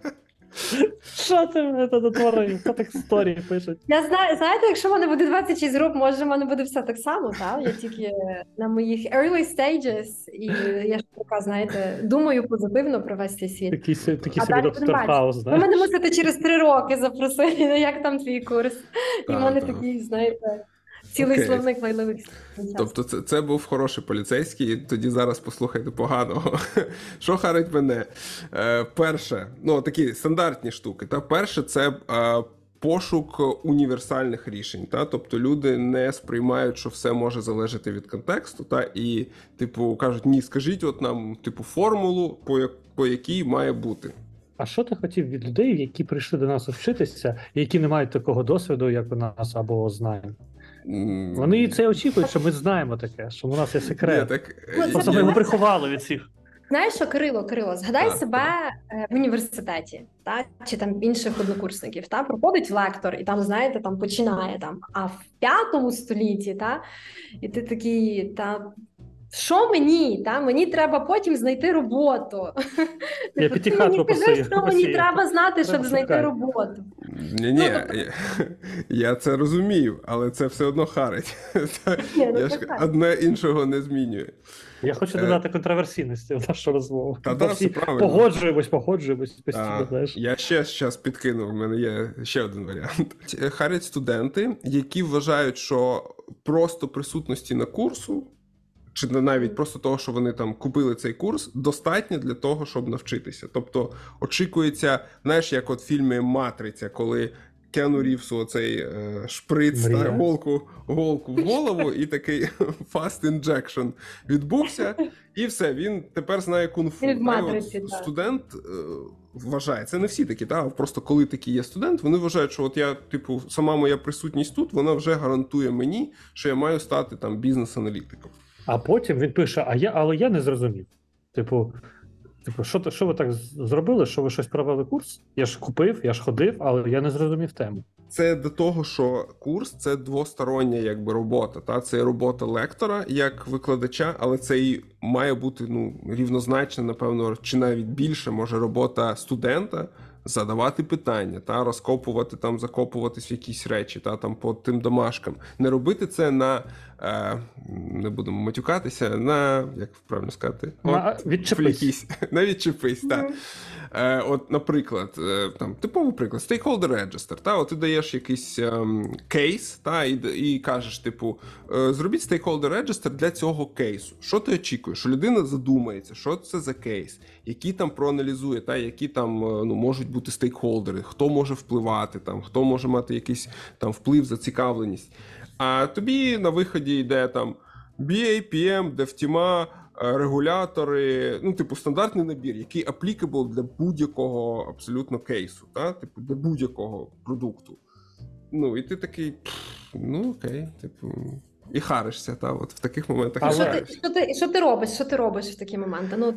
Що ти мене тут натворив? Що так історії пишуть? Я знаю, знаєте, якщо в мене буде 26 груп, може в мене буде все так само, Я тільки на моїх early stages, і я ж така, знаєте, думаю позитивно про весь цей світ. Такий собі доктор Хаус, знаєш? Ви мене мусите через 3 роки запросити, як там твій курс. І в мене такий, знаєте... Цілий словник лайливих. Тобто це був хороший поліцейський, і тоді зараз послухайте поганого. Що харить мене? Перше, такі стандартні штуки. Перше, це пошук універсальних рішень. Тобто люди не сприймають, що все може залежати від контексту, і кажуть, ні, скажіть нам формулу, по якій має бути. А що ти хотів від людей, які прийшли до нас вчитися, і які не мають такого досвіду, як у нас, або знань? Вони це очікують, що ми знаємо таке, що у нас є секрет. Просто ми його приховали від всіх. Знаєш що, Кирило, згадай себе в університеті, чи там інших однокурсників, проходить лектор, і там, знаєте, починає, а в 5 столітті, і ти такий, що мені? Мені треба потім знайти роботу. Я п'ятихатку посію. Що мені треба знати, щоб знайти роботу? Ні, я це розумію, але це все одно харить. Одне іншого не змінює. Я хочу додати контроверсійності в нашу розмову. Все правильно. Погоджуємось постійно, знаєш. Я ще зараз підкину, в мене є ще один варіант. Харять студенти, які вважають, що просто присутності на курсу, чи навіть просто того, що вони там купили цей курс, достатньо для того, щоб навчитися. Тобто очікується, знаєш, як от в фільмі «Матриця», коли Кіану Рівсу оцей шприц, голку в голову, і такий fast injection відбувся, і все, він тепер знає кунг-фу. Студент вважає, це не всі такі, просто коли такий є студент, вони вважають, що от я, сама моя присутність тут, вона вже гарантує мені, що я маю стати там бізнес-аналітиком. А потім він пише, але я не зрозумів. Що ви так зробили, що ви щось провели курс? Я ж купив, я ж ходив, але я не зрозумів тему. Це до того, що курс – це двостороння робота. Це робота лектора як викладача, але це і має бути рівнозначно, напевно, чи навіть більше, може, робота студента, задавати питання, розкопувати, закопуватись в якісь речі, по тим домашкам. Не робити це на, не будемо матюкатися, на, як правильно сказати? Відчепись. На відчепись, так. От, наприклад, типовий приклад, stakeholder register, ти даєш якийсь кейс, і кажеш, зробіть stakeholder register для цього кейсу. Що ти очікуєш? Що людина задумається, що це за кейс, які там проаналізує, які там можуть бути стейкхолдери, хто може впливати, хто може мати якийсь вплив, зацікавленість. А тобі на виході йде BA, PM, DevTeam, регулятори, ну, типу, стандартний набір, який applicable для будь-якого абсолютно кейсу, та? Типу, для будь-якого продукту. Ну, і ти такий, ну, окей, типу, і харишся, та, от в таких моментах. Що ти робиш? Що ти робиш в такі моменти? Ну,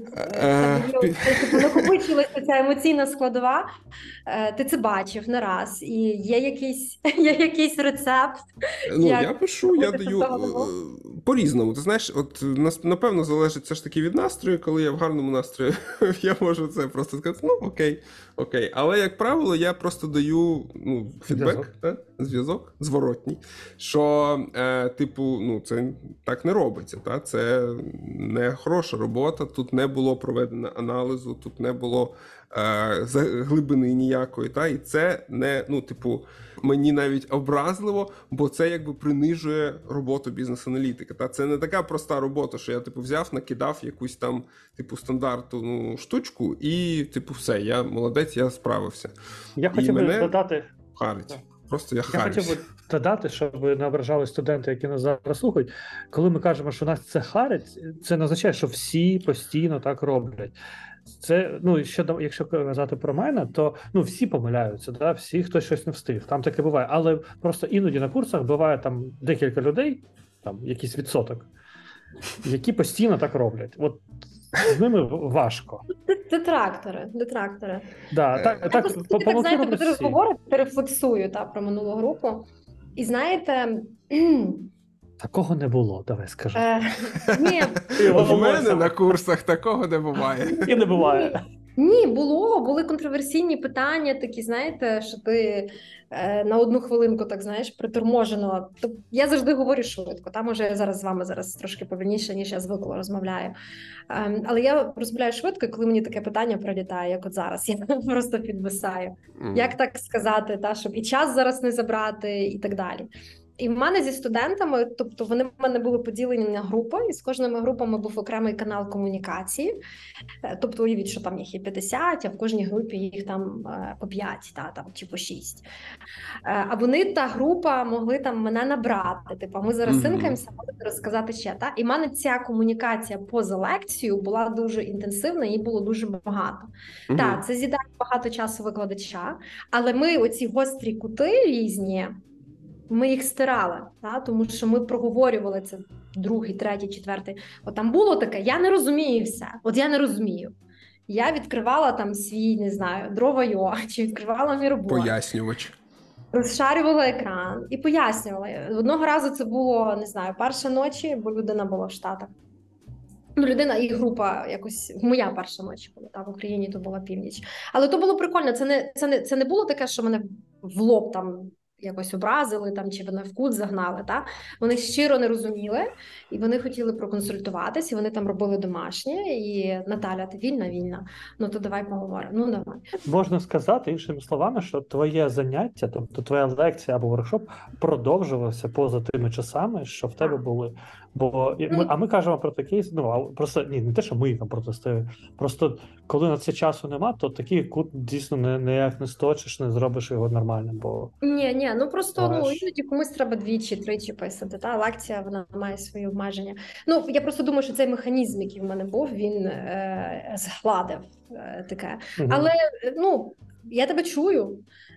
накопичилася ця емоційна складова, ти це бачив не раз, і є якийсь рецепт. Ну, я пишу, я даю по-різному. Ти знаєш, от напевно залежить все ж таки від настрою, коли я в гарному настрої, я можу це просто сказати, ну, окей. Але, як правило, я просто даю, ну, фідбек, зв'язок зворотній, що, типу, ну, це так не робиться, та? Це не хороша робота, тут не було проведено аналізу, тут не було глибини ніякої, та? І це не, ну, типу, мені навіть образливо, бо це якби принижує роботу бізнес-аналітика. Та? Це не така проста робота, що я, типу, взяв, накидав якусь там, типу, стандартну штучку і, типу, все, я молодець, я справився. Я хотів би додати... Харить. Просто я хотів би додати, щоб не ображали студенти, які нас зараз слухають. Коли ми кажемо, що нас це харить, це не означає, що всі постійно так роблять. Це, ну, якщо казати про мене, то, ну, всі помиляються, да? Всі, хтось щось не встиг. Там таке буває. Але просто іноді на курсах буває там декілька людей, там якийсь відсоток, які постійно так роблять. От з ними важко. Детрактори. Да, так, знаєте, ви зараз говорите, рефлексую про минулу групу. І знаєте... Такого не було, давай скажи. Ні. У мене на курсах такого не буває. І не буває. Ні, були контроверсійні питання такі, знаєте, що ти на одну хвилинку, так, знаєш, приторможено. Я завжди говорю швидко, може я зараз з вами трошки повільніше, ніж я звикла розмовляю. Але я розмовляю швидко, і коли мені таке питання прилітає, як от зараз, я просто підвисаю. Як так сказати, щоб і час зараз не забрати, і так далі. І в мене зі студентами, тобто вони в мене були поділені на групи, і з кожними групами був окремий канал комунікації. Тобто уявіть, що там їх є 50, а в кожній групі їх там по 5 чи по 6. А вони, та група, могли там мене набрати. Типу, ми зараз синкаємося, можете розказати ще. І в мене ця комунікація поза лекцією була дуже інтенсивна, її було дуже багато. Це з'їдає багато часу викладача, але ми оці гострі кути різні, ми їх стирали, тому що ми проговорювали це другий, третій, четвертий. От там було таке, я не розумію все, от я не розумію. Я відкривала там свій, не знаю, Дрова.io, чи відкривала мій робот. Пояснювач. Розшарювала екран і пояснювала. Одного разу це було, не знаю, перша ночі, бо людина була в Штатах. Ну, людина і група якось, моя перша ночі була, в Україні то була північ. Але то було прикольно, це не було таке, що мене в лоб там якось образили там, чи вони в кут загнали. Вони щиро не розуміли, і вони хотіли проконсультуватись, і вони там робили домашнє, і Наталя, ти вільна? Ну, то давай поговоримо. Ну, давай. Можна сказати, іншими словами, що твоє заняття, тобто твоя лекція або воркшоп продовжувався поза тими часами, що в тебе були. Бо ми кажемо про такий, просто не те, що ми там протистоїмо, просто коли на це часу нема, то такий кут дійсно ніяк не сточиш, не зробиш його нормальним, бо... Ні, ну просто іноді комусь треба двічі-тричі писати, лекція, вона має свої обмеження. Ну, я просто думаю, що цей механізм, який в мене був, він згладив таке. Але, я тебе чую,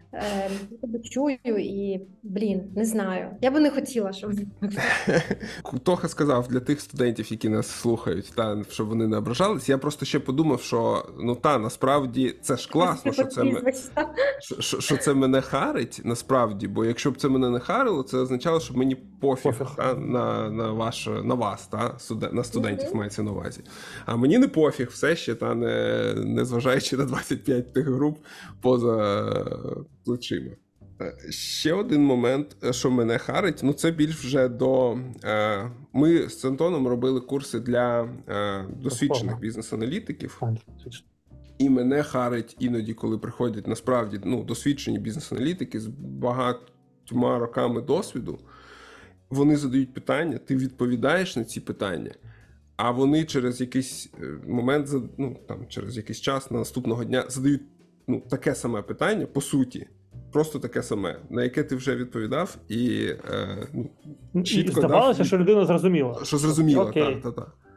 і, не знаю. Я би не хотіла, щоб... Тоха сказав для тих студентів, які нас слухають, щоб вони не ображались. Я просто ще подумав, що, насправді, це ж класно, що це мене харить, насправді, бо якщо б це мене не харило, це означало, що мені пофіг. На вас, на студентів мається на увазі. А мені не пофіг, все ще, не зважаючи на 25 тих груп поза плечима. Ще один момент, що мене харить, це більш вже до... Ми з Антоном робили курси для досвідчених бізнес-аналітиків. І мене харить іноді, коли приходять насправді досвідчені бізнес-аналітики з багатьма роками досвіду. Вони задають питання, ти відповідаєш на ці питання, а вони через якийсь момент, через якийсь час на наступного дня задають таке саме питання, по суті, просто таке саме, на яке ти вже відповідав, і чітко здавалося, що людина зрозуміла. Що зрозуміла, так.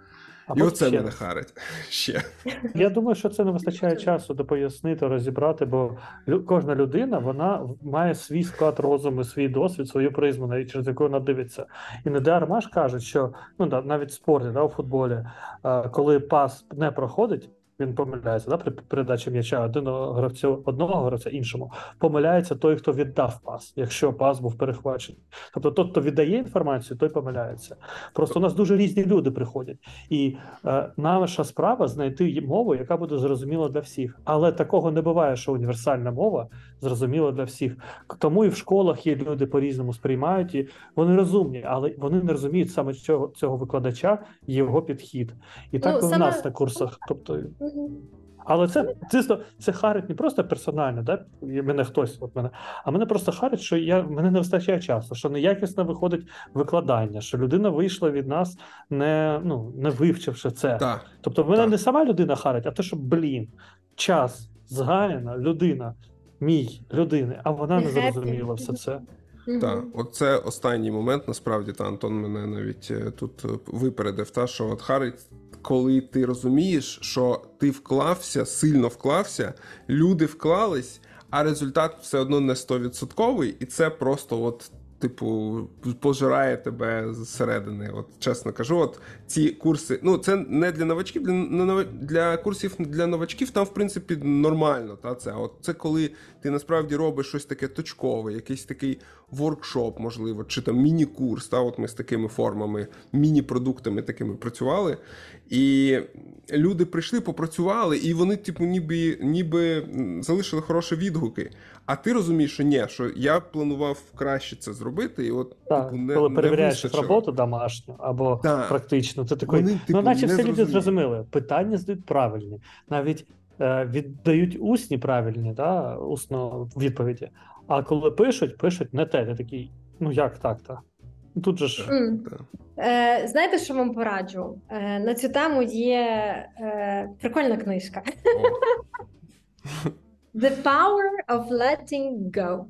І оце мене харить ще. Я думаю, що це не вистачає часу допояснити, розібрати, бо кожна людина, вона має свій склад розуму, свій досвід, свою призму, через яку вона дивиться. І не дарма ж кажуть, що навіть в спорті, у футболі, коли пас не проходить, він помиляється, при передачі м'яча одного гравця іншому. Помиляється той, хто віддав пас, якщо пас був перехвачений. Тобто той, хто віддає інформацію, той помиляється. Просто у нас дуже різні люди приходять. І наша справа знайти мову, яка буде зрозуміла для всіх. Але такого не буває, що універсальна мова зрозуміла для всіх. Тому і в школах є люди по-різному сприймають, і вони розумні, але вони не розуміють саме цього викладача і його підхід. І так у нас на курсах. Тобто, але це харить не просто персонально, мене хтось, а мене просто харить, що мене не вистачає часу, що неякісно виходить викладання, що людина вийшла від нас, не вивчивши це. Так. Тобто мене не сама людина харить, а те, що, час згаяна, людина, людини, а вона не зрозуміла все це. Так, оце останній момент, насправді, Антон мене навіть тут випередив, що харить, коли ти розумієш, що ти сильно вклався, люди вклались, а результат все одно не 100%, і це просто пожирає тебе зсередини. Чесно кажу, ці курси, це не для новачків, для курсів для новачків там, в принципі, нормально. Це коли ти насправді робиш щось таке точкове, якийсь такий воркшоп, можливо, чи там міні-курс. Ми з такими формами, міні-продуктами такими працювали. І люди прийшли, попрацювали, і вони, ніби залишили хороші відгуки. А ти розумієш, що ні, що я планував краще це зробити, і коли перевіряєш роботу домашню або практичну, ти такий, наче всі люди зрозуміли, питання здають правильні, навіть віддають усні правильні, усно відповіді, а коли пишуть не те, ти такий, як так-то? Тут же ж... Знаєте, що вам пораджу? На цю тему є прикольна книжка. The Power of Letting Go.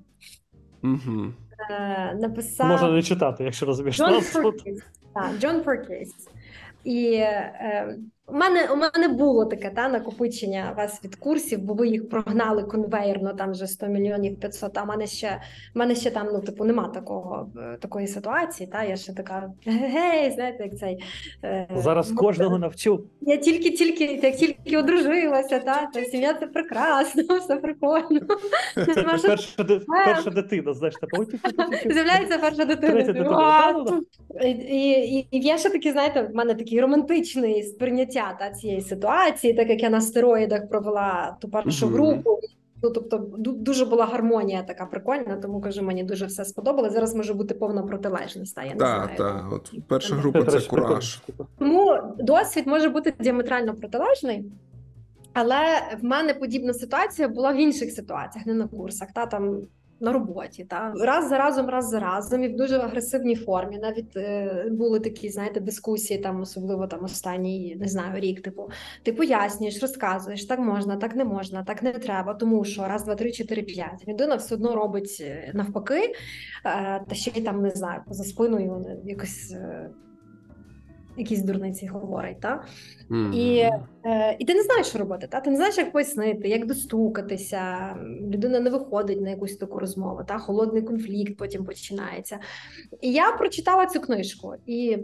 Написав... Можна не читати, якщо розумієш. Джон Перкіс. І у мене було таке накопичення вас від курсів, бо ви їх прогнали конвейерно, там вже 100 мільйонів 500, а в мене ще там, нема такої ситуації, я ще така, знаєте, як цей... Зараз кожного навчу. Я тільки одружилася, сім'я – це прекрасно, все прикольно. Перша дитина, знаєш, з'являється перша дитина. І я ще таки, знаєте, в мене такий романтичний сприйняття цієї ситуації, так як я на стероїдах провела ту першу групу. Тобто дуже була гармонія така прикольна, тому, кажу, мені дуже все сподобалося. Зараз може бути повна протилежність, я не знаю. Так, перша група – це кураж. Тому досвід може бути діаметрально протилежний, але в мене подібна ситуація була в інших ситуаціях, не на курсах, там на роботі, раз за разом і в дуже агресивній формі. Навіть були такі, знаєте, дискусії, особливо останній, не знаю, рік, ти пояснюєш, розказуєш, так можна, так не можна, так не треба, тому що раз, два, три, 4, 5. Людина все одно робить навпаки, та ще й не знаю, поза спиною якісь дурниці говорить, І ти не знаєш, що робити, ти не знаєш, як пояснити, як достукатися, людина не виходить на якусь таку розмову, холодний конфлікт потім починається. І я прочитала цю книжку, і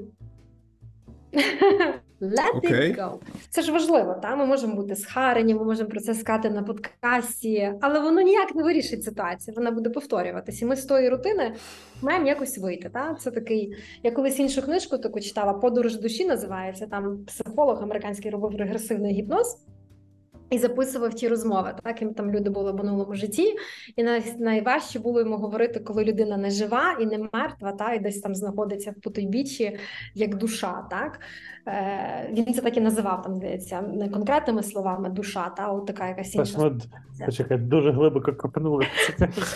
let it go. Це ж важливо, ми можемо бути схарені, ми можемо про це сказати на подкасті, але воно ніяк не вирішить ситуацію, вона буде повторюватись. І ми з тої рутини маємо якось вийти. Це такий, я колись іншу книжку таку читала, «Подорож душі» називається, там психолог американський робив регресивний гіпноз і записував ті розмови, яким там люди були в минулому житті, і найважче було йому говорити, коли людина не жива і не мертва, і десь там знаходиться в потойбіччі, як душа, Він це так і називав, здається, не конкретними словами душа, от така якась інша. Почекай, дуже глибоко копнули.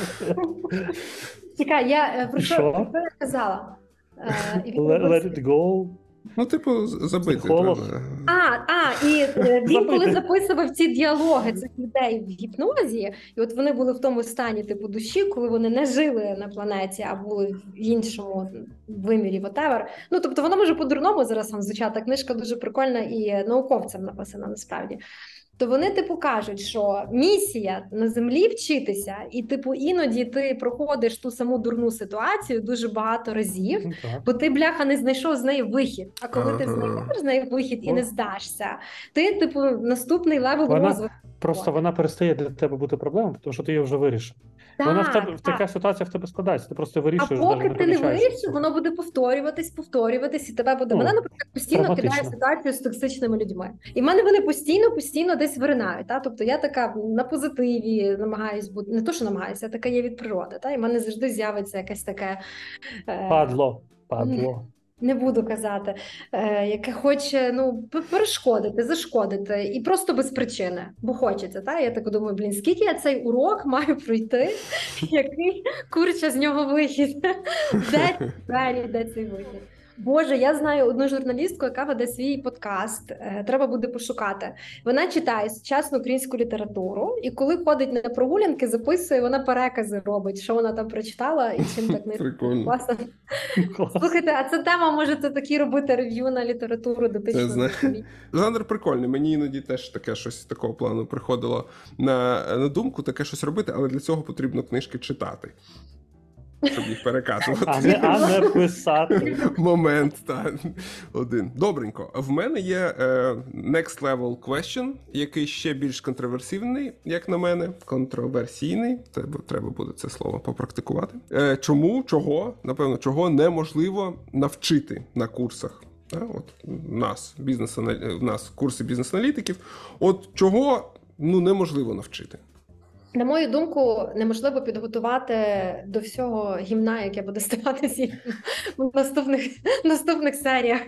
Чекай, я про що я казала? Let it go. Ну, типу, забити. І він коли записував ці діалоги цих людей в гіпнозі, і от вони були в тому стані, типу, душі, коли вони не жили на планеті, а були в іншому вимірі, whatever. Ну, тобто, воно може по-дурному зараз вам звучати. Книжка дуже прикольна і науковцям написана, насправді. То вони, типу, кажуть, що місія на землі вчитися, і, типу, іноді ти проходиш ту саму дурну ситуацію дуже багато разів, бо ти, бляха, не знайшов з неї вихід. А коли ти знайдеш з неї вихід і не здашся, ти, типу, наступний левел розвитку. Просто вона перестає для тебе бути проблемою, тому що ти її вже вирішив. Вона в тебе, така ситуація в тебе складається, ти просто вирішуєш. А поки ти не вирішиш, воно буде повторюватись, і тебе буде... Мене, наприклад, постійно кидає ситуацію з токсичними людьми. І в мене вони постійно десь виринають. Та? Тобто я така на позитиві намагаюсь бути, не то, що намагаюся, я така є від природи. Та? І в мене завжди з'явиться якесь таке... Падло. Не буду казати, яке хоче перешкодити, зашкодити, і просто без причини, бо хочеться. Та? Я так думаю, скільки я цей урок маю пройти, який курча з нього вихід, де цей вихід. Боже, я знаю одну журналістку, яка веде свій подкаст, треба буде пошукати. Вона читає сучасну українську літературу, і коли ходить на прогулянки, записує, вона перекази робить, що вона там прочитала і чим так не класно. Слухайте, а ця тема, можете такі робити рев'ю на літературу дотичну. Жанр прикольний, мені іноді теж таке щось такого плану приходило на думку, таке щось робити, але для цього потрібно книжки читати. Щоб їх переказувати. А не писати. Момент, так. Один. Добренько. В мене є next level question, який ще більш контроверсійний, як на мене. Контроверсійний. Треба буде це слово попрактикувати. Чого неможливо навчити на курсах. От в нас курси бізнес-аналітиків. От чого неможливо навчити? На мою думку, неможливо підготувати до всього гімна, яке буде ставатися в наступних серіях.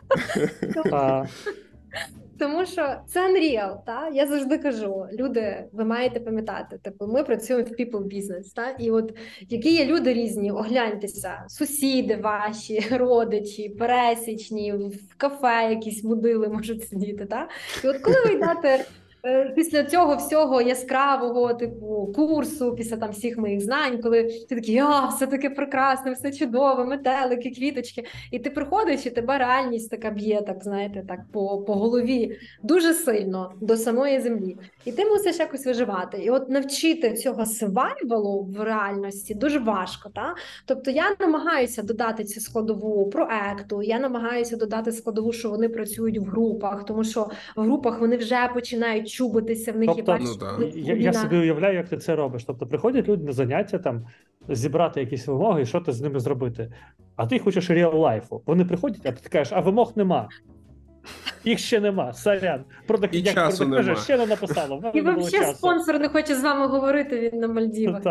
Тому що це unreal, та? Я завжди кажу, люди, ви маєте пам'ятати, типу, ми працюємо в people business, та? І от які є люди різні, огляньтеся, сусіди ваші, родичі, пересічні, в кафе якісь мудили можуть сидіти, та? І от коли ви йдете після цього всього яскравого, типу, курсу, після там всіх моїх знань, коли ти такий, все таке прекрасне, все чудове, метелики, квіточки, і ти приходиш, і тебе реальність така б'є, так, знаєте, так, по голові дуже сильно до самої землі. І ти мусиш якось виживати. І от навчити цього survival в реальності дуже важко, та? Тобто я намагаюся додати цю складову проекту, я намагаюся додати складову, що вони працюють в групах, тому що в групах вони вже починають чубитися, в них є я собі уявляю, як ти це робиш. Тобто приходять люди на заняття, там, зібрати якісь вимоги і що ти з ними зробити. А ти хочеш реал-лайфу. Вони приходять, а ти кажеш, а вимог нема. Їх ще нема, сорян. І часу нема. Ще не написало. І взагалі спонсор не хоче з вами говорити, він на Мальдівах.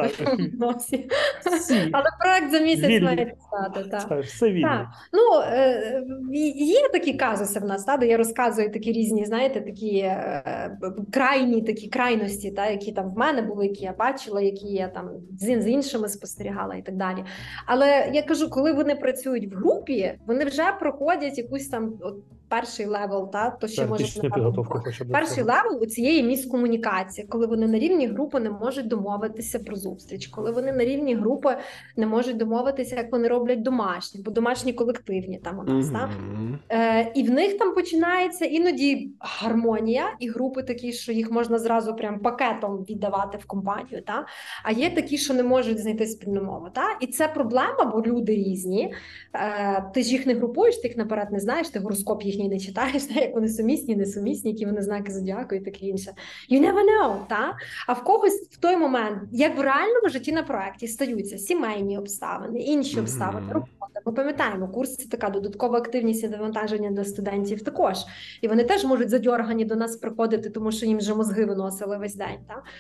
Але проект за місяць має писати. Все вільно. Є такі казуси в нас, де я розказую такі різні, знаєте, такі крайності, які там в мене були, які я бачила, які я там з іншими спостерігала і так далі. Але я кажу, коли вони працюють в групі, вони вже проходять якусь там перший левел, то що може перший левел у цієї міскомунікації, коли вони на рівні групи не можуть домовитися про зустріч, коли вони на рівні групи не можуть домовитися, як вони роблять домашні, бо домашні колективні там у нас, і в них там починається іноді гармонія, і групи такі, що їх можна зразу прям пакетом віддавати в компанію, а є такі, що не можуть знайти спільну мову, і це проблема, бо люди різні, ти ж їх не групуєш, ти їх наперед не знаєш, ти гороскоп їхній не читаєш, як вони сумісні, несумісні, які вони знаки зодіаку і таке інше. You never know, А в когось в той момент, як в реальному житті на проєкті, стаються сімейні обставини, інші обставини, робота. Ми пам'ятаємо, курс – це така додаткова активність і навантаження для студентів також. І вони теж можуть задьоргані до нас приходити, тому що їм вже мозги виносили весь день,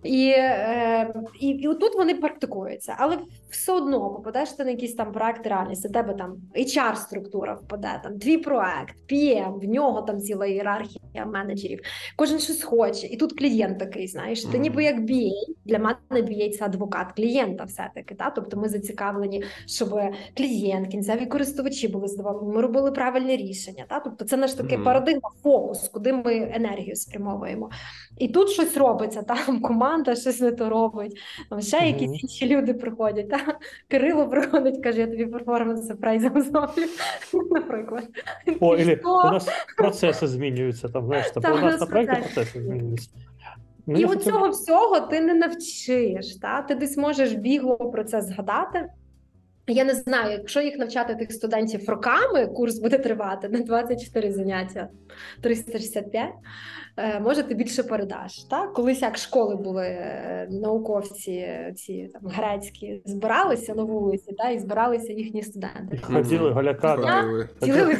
І отут вони практикуються, але все одно попадеш ти на якийсь там проект реальності, тебе там HR-структура впаде, там твій проект, PM, в нього там ціла ієрархія менеджерів, кожен щось хоче, і тут клієнт такий, знаєш, ти ніби як BA, для мене BA – це адвокат клієнта все-таки, тобто ми зацікавлені, щоб клієнт, кінцеві користувачі були задоволені, ми робили правильне рішення, тобто це наш такий парадигма, фокус, куди ми енергію спрямовуємо. І тут щось робиться, там команда щось не то робить, там ще якісь інші люди приходять. Кирило приходить, каже, я тобі перформанс апрайзом зроблю, наприклад. У нас процеси змінюються, там, знаєш, у нас на проєкті процеси змінюються. І от цього всього ти не навчиш, ти десь можеш бігло про це згадати. Я не знаю, якщо їх навчати тих студентів роками, курс буде тривати на 24 заняття, 365, може ти більше передаш. Колись як школи були науковці, ці там грецькі, збиралися на вулиці, і збиралися їхні студенти. Ходили голяка. Цілили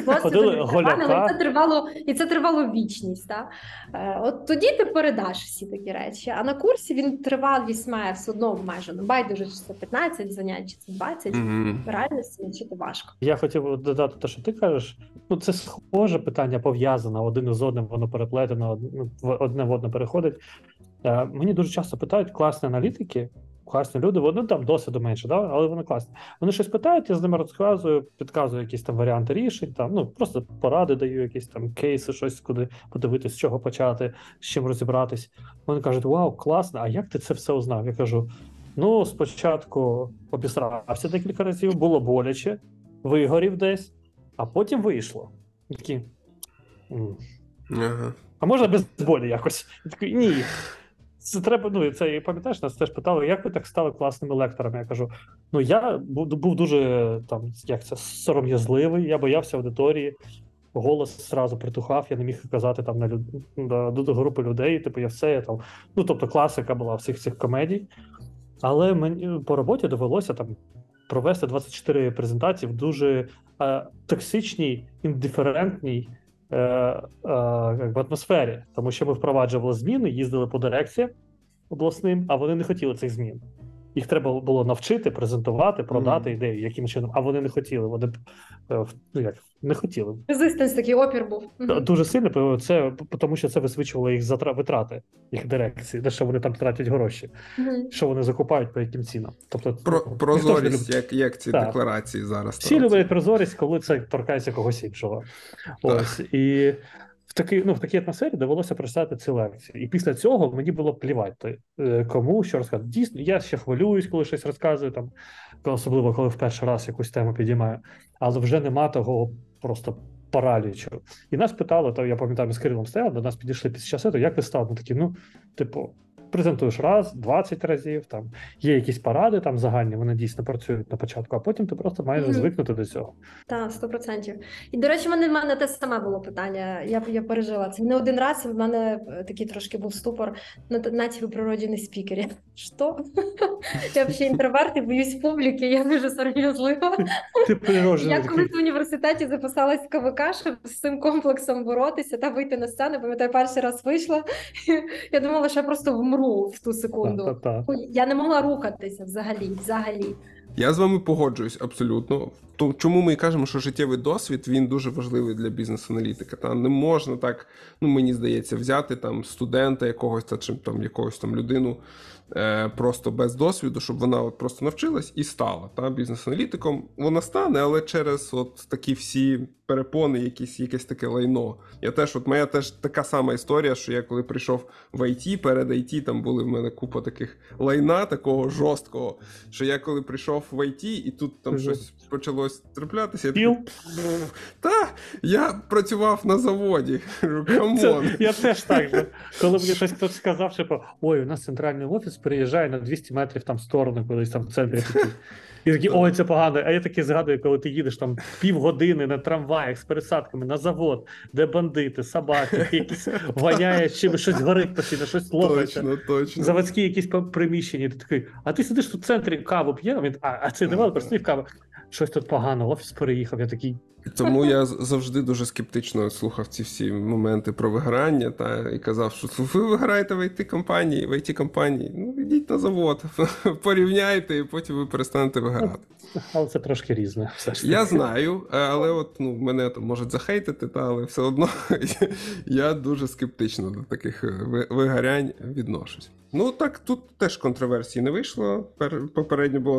і це тривало вічність. От тоді ти передаш всі такі речі, а на курсі він тривалість має все одно обмежено. Байдуже, чи це 15 занять, чи це 20. Реально свідчити важко. Я хотів додати те, що ти кажеш. Це схоже питання, пов'язане один із одним, воно переплетено, одне в одне переходить. Мені дуже часто питають класні аналітики, класні люди, вони там досвіду менше, але вони класні. Вони щось питають, я з ними розказую, підказую якісь там варіанти рішень, просто поради даю, якісь там кейси, щось куди подивитись, з чого почати, з чим розібратись. Вони кажуть, вау, класно, а як ти це все узнав? Я кажу, спочатку обісрався декілька разів, було боляче, вигорів десь, а потім вийшло. Такі, а можна без болі якось? Я такий, ні. Це треба, це, пам'ятаєш, нас теж питали, як ви так стали класними лекторами? Я кажу, я був дуже, сором'язливий, я боявся аудиторії, голос зразу притухав, я не міг казати там до групи людей, тобто класика була всіх цих комедій. Але мені по роботі довелося там провести 24 презентації в дуже токсичній, індиферентній атмосфері, тому що ми впроваджували зміни, їздили по дирекціям обласним, а вони не хотіли цих змін. Їх треба було навчити, презентувати, продати ідею, яким чином, а вони не хотіли. Вони не хотіли. Резистенс, такий опір був. Дуже сильно, тому що це висвічувало їх витрати, їх дирекції, де що вони там тратять гроші, що вони закупають, по яким цінам. Тобто, прозорість, як ці декларації зараз. Всі люблять прозорість, коли це торкається когось іншого. Ось, і в такій атмосфері довелося прочитати ці лекції. І після цього мені було плівати, кому що розказати. Дійсно, я ще хвилююсь, коли щось розказую, особливо, коли в перший раз якусь тему підіймаю. Але вже нема того просто паралічу. І нас питали, я пам'ятаю, ми з Кирилом стояли, до нас підійшли під час цього, як ви стали? Ми такі, презентуєш раз, 20 разів, є якісь поради загальні, вони дійсно працюють на початку, а потім ти просто маєш звикнути до цього. Так, 100%. І, до речі, в мене те саме було питання, я пережила це не один раз, і в мене такий трошки був ступор, ви природжений спікер. Що? Я взагалі інтроверт і боюсь публіки, я дуже сором'язлива. Я колись в університеті записалась в КВК, щоб з цим комплексом боротися та вийти на сцену, пам'ятаю, перший раз вийшла, я думала, що я просто вмру в ту секунду. Я не могла рухатися взагалі. Я з вами погоджуюсь абсолютно. Чому ми і кажемо, що життєвий досвід, він дуже важливий для бізнес-аналітика. Не можна так, мені здається, взяти студента якогось, чи якогось людину просто без досвіду, щоб вона просто навчилась і стала бізнес-аналітиком. Вона стане, але через такі всі перепони, якесь таке лайно. Моя теж така сама історія, що я коли прийшов в IT, перед IT були в мене купа таких лайна, такого жорсткого, що я коли прийшов в IT, і тут щось почалось траплятися, я працював на заводі. Камон. Я теж так же. Коли мені хтось сказав, що ой, у нас центральний офіс переїжджає на 200 метрів в сторону, кудись в центрі. І такі, ой, це погано. А я таки згадую, коли ти їдеш півгодини на трамваях з пересадками на завод, де бандити, собаки, якісь воняє, щось горить постійно, щось лопається. Точно. Заводські якісь приміщення. Ти такий, а ти сидиш тут в центрі, каву п'є? А це девелопер, сидів каву. Щось тут погано, офіс переїхав. Я такий, Тому я завжди дуже скептично слухав ці всі моменти про вигорання і казав, що ви виграєте в IT-компанії, ну йдіть на завод, порівняйте і потім ви перестанете виграти. Але це трошки різне. Все ж я знаю, але от мене там можуть захейтити, але все одно я дуже скептично до таких вигорянь відношусь. Ну так, тут теж контроверсії не вийшло, попередньо було,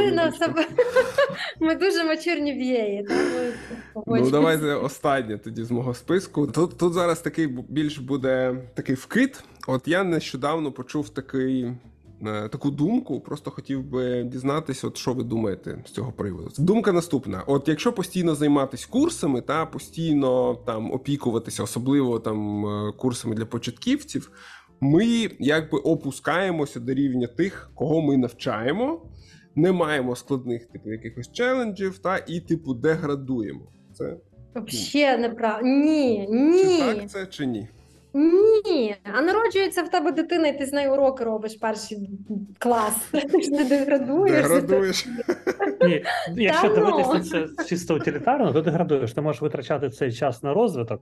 Ми дуже мачурні б'єї. Ну, давайте останнє тоді з мого списку. Тут зараз такий більш буде такий вкид. От я нещодавно почув таку думку, просто хотів би дізнатися, от що ви думаєте з цього приводу. Думка наступна. От якщо постійно займатися курсами, постійно там опікуватися, особливо там курсами для початківців, ми якби опускаємося до рівня тих, кого ми навчаємо, не маємо складних якихось челенджів, і деградуємо. Це взагалі неправда. Ні. Чи так це, чи ні? Ні. А народжується в тебе дитина, і ти з нею уроки робиш перший клас. Ти ж не деградуєш. Деградуєш. Ні, якщо дивитися це чисто утилітарно, то деградуєш. Ти можеш витрачати цей час на розвиток.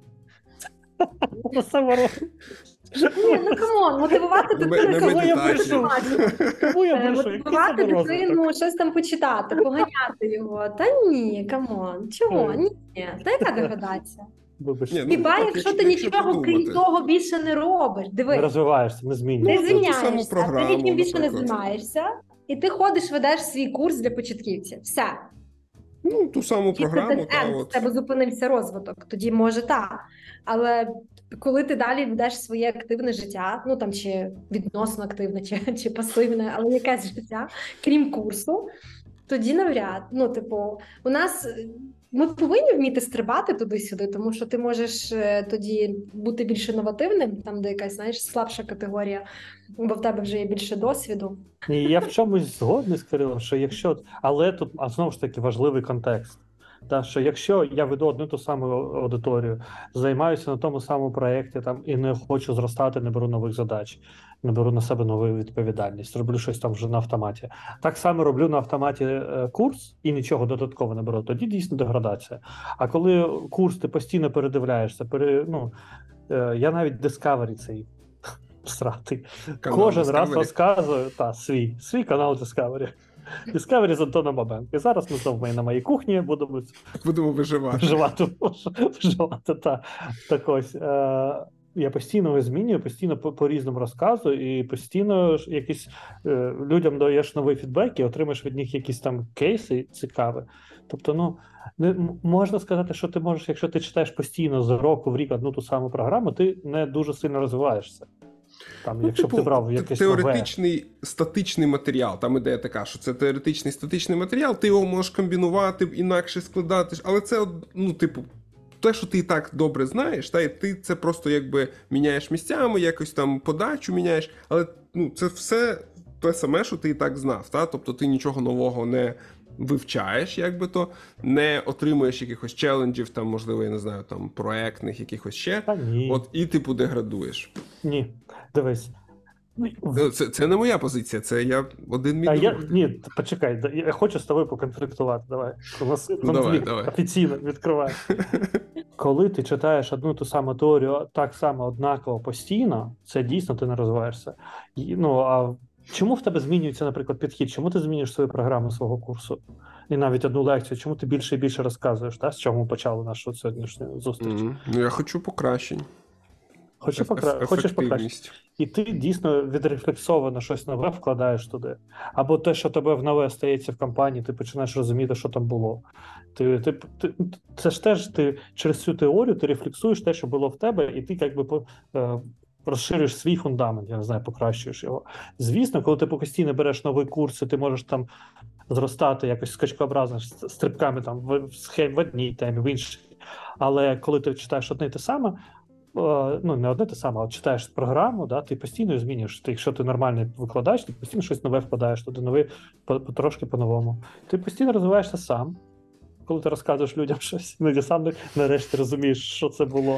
На саморозвиток. Ні, ну камон, мотивувати дитину, кого я брешу? Мотивувати дитину, щось там почитати, поганяти його. Та ні, камон, чого? Ні, та яка деградація? Хіба якщо ти нічого крім того більше не робиш, дивись. Не розвиваєшся, не змінюєшся. Не звільняєшся, ти нічим більше не займаєшся, і ти ходиш, ведеш свій курс для початківців. Все. Ну, ту саму програму. В тебе зупинився розвиток, тоді може так. Але коли ти далі ведеш своє активне життя, ну там чи відносно активне, чи пасивне, але якесь життя, крім курсу, тоді навряд. Ну, типу, у нас ми повинні вміти стрибати туди-сюди, тому що ти можеш тоді бути більш інновативним, там де якась, знаєш, слабша категорія, бо в тебе вже є більше досвіду. І я в чомусь згодний з Кирилом, що якщо, але тут, знову ж таки, важливий контекст. Та, що якщо я веду одну ту саму аудиторію, займаюся на тому самому проєкті і не хочу зростати, не беру нових задач, не беру на себе нову відповідальність, роблю щось там вже на автоматі. Так само роблю на автоматі курс і нічого додатково не беру, тоді дійсно деградація. А коли курс ти постійно передивляєшся, я навіть Discovery цей сратий, кожен Discovery. раз розказую свій канал Discovery. Discovery з Антоном Бабенко. І зараз ми знову на моїй кухні будемо виживати. Так ось. Я постійно його змінюю, постійно по-різному розказую, і постійно якісь людям даєш новий фідбек і отримаєш від них якісь там кейси цікаві. Тобто, можна сказати, що ти можеш, якщо ти читаєш постійно з року в рік одну ту саму програму, ти не дуже сильно розвиваєшся. Там, якщо б ти брав якесь теоретичний статичний матеріал, там ідея така, що це теоретичний статичний матеріал, ти його можеш комбінувати, інакше складати, але це, те, що ти і так добре знаєш, і ти це просто якби міняєш місцями, якось там подачу міняєш, але це все те саме, що ти і так знав, тобто ти нічого нового не вивчаєш, не отримуєш якихось челенджів, там, можливо, я не знаю, там, проектних, якихось ще, і деградуєш. Ні, дивись. Це не моя позиція, це я один мій друг. Ні, почекай, я хочу з тобою поконфліктувати, давай. У нас конфлікт офіційно відкриває. Коли ти читаєш одну ту саму теорію так само однаково постійно, це дійсно ти не розвиваєшся. А чому в тебе змінюється, наприклад, підхід? Чому ти змінюєш свою програму свого курсу? І навіть одну лекцію, чому ти більше і більше розказуєш, з чого ми почали нашу сьогоднішню зустріч? Я хочу покращень. Хочеш покращити. І ти дійсно відрефлексовано щось нове вкладаєш туди. Або те, що тебе в нове стається в компанії, ти починаєш розуміти, що там було. Це ж теж ти через цю теорію ти рефлексуєш те, що було в тебе, і ти розширюєш свій фундамент, я не знаю, покращуєш його. Звісно, коли ти постійно береш новий курс, і ти можеш там зростати якось скачкообразно, стрибками там в одній темі, в іншій. Але коли ти читаєш одне і те саме, не одне те саме, а читаєш програму, ти постійно змінюєш. Якщо ти нормальний викладач, ти постійно щось нове вкладаєш, туди нове, трошки по-новому. Ти постійно розвиваєшся сам. Коли ти розказуєш людям щось, ти сам нарешті розумієш, що це було.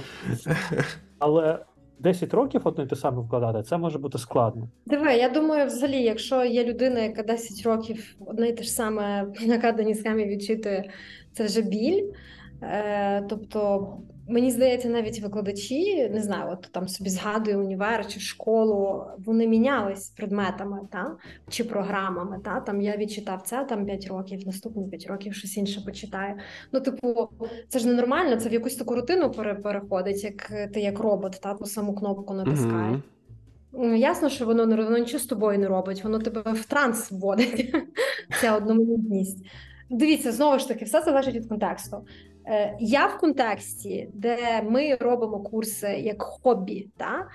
Але 10 років одне те саме вкладати, це може бути складно. Диви, я думаю, взагалі, якщо є людина, яка 10 років одне й те ж саме на накладені схемі відчитує, це вже біль. Тобто, мені здається, навіть викладачі, не знаю, от там собі згадую універ чи школу, вони мінялись предметами, чи програмами. Там я відчитав це 5 років, наступні 5 років щось інше почитаю. Це ж ненормально, це в якусь таку рутину переходить, як ти як робот, ту саму кнопку натискаєш. Ясно, що воно нічого з тобою не робить, воно тебе в транс вводить. Це одноманітність. Дивіться, знову ж таки, все залежить від контексту. Я в контексті, де ми робимо курси як хобі,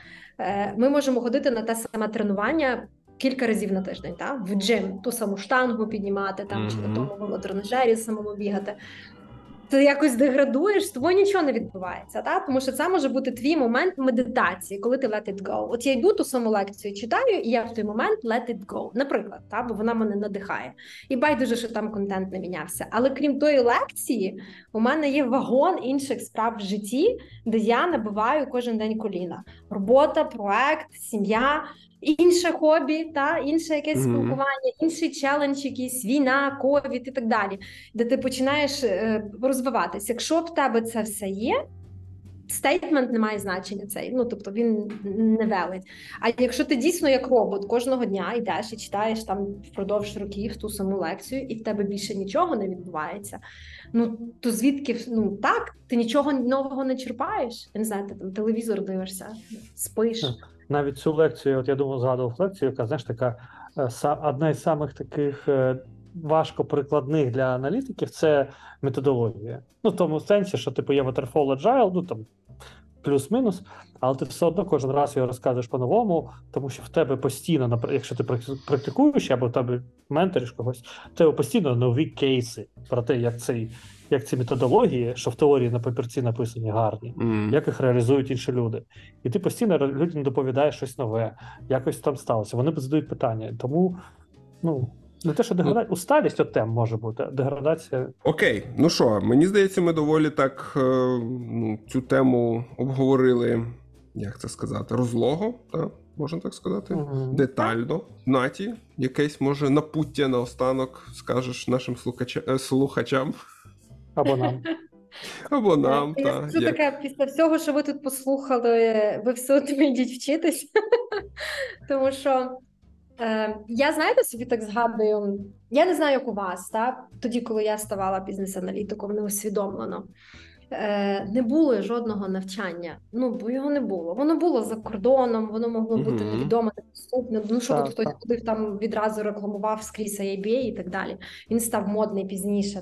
ми можемо ходити на те саме тренування кілька разів на тиждень, в джим, ту саму штангу піднімати, чи на тому велотренажері самому бігати. Ти якось деградуєш, з тобою нічого не відбувається, тому що це може бути твій момент медитації, коли ти let it go. От я йду ту саму лекцію, читаю, і я в той момент let it go, наприклад, бо вона мене надихає. І байдуже, що там контент не мінявся. Але крім тої лекції, у мене є вагон інших справ в житті, де я набиваю кожен день коліна. Робота, проект, сім'я, інше хобі, інше якесь спілкування, інший челендж, якийсь війна, ковід і так далі, де ти починаєш розвиватись. Якщо в тебе це все є, стейтмент не має значення цей, тобто він не велить. А якщо ти дійсно як робот кожного дня йдеш і читаєш там впродовж років ту саму лекцію, і в тебе більше нічого не відбувається, то звідки, так, ти нічого нового не черпаєш, я не знаю, ти там телевізор дивишся, спиш. Навіть цю лекцію, от я думаю, згадував лекцію, яка, знаєш, така одна із самих таких важко прикладних для аналітиків – це методологія. В тому сенсі, що типу є Waterfall Agile, там плюс-мінус, але ти все одно кожен раз його розказуєш по-новому, тому що в тебе постійно, якщо ти практикуєш або в тебе менториш когось, в тебе постійно нові кейси про те, як ці методології, що в теорії на папірці написані гарні, як їх реалізують інші люди. І ти постійно людям доповідаєш щось нове, якось там сталося. Вони задають питання. Тому, не те, що деградація, усталість от тем може бути, деградація. Окей, мені здається, ми доволі так цю тему обговорили, як це сказати, розлого, можна так сказати, детально. Наті, якесь, може, напуття наостанок скажеш нашим слухачам? Або нам. Або нам, так. Це таке, після всього, що ви тут послухали, ви все одно йдіть вчитись. Тому що я, знаєте, собі так згадую, я не знаю, як у вас, тоді, коли я ставала бізнес-аналітиком, неусвідомлено, не було жодного навчання, бо його не було. Воно було за кордоном, воно могло бути невідомо, недоступне, щоб хтось ходив там відразу рекламував скрізь ABA і так далі. Він став модний пізніше,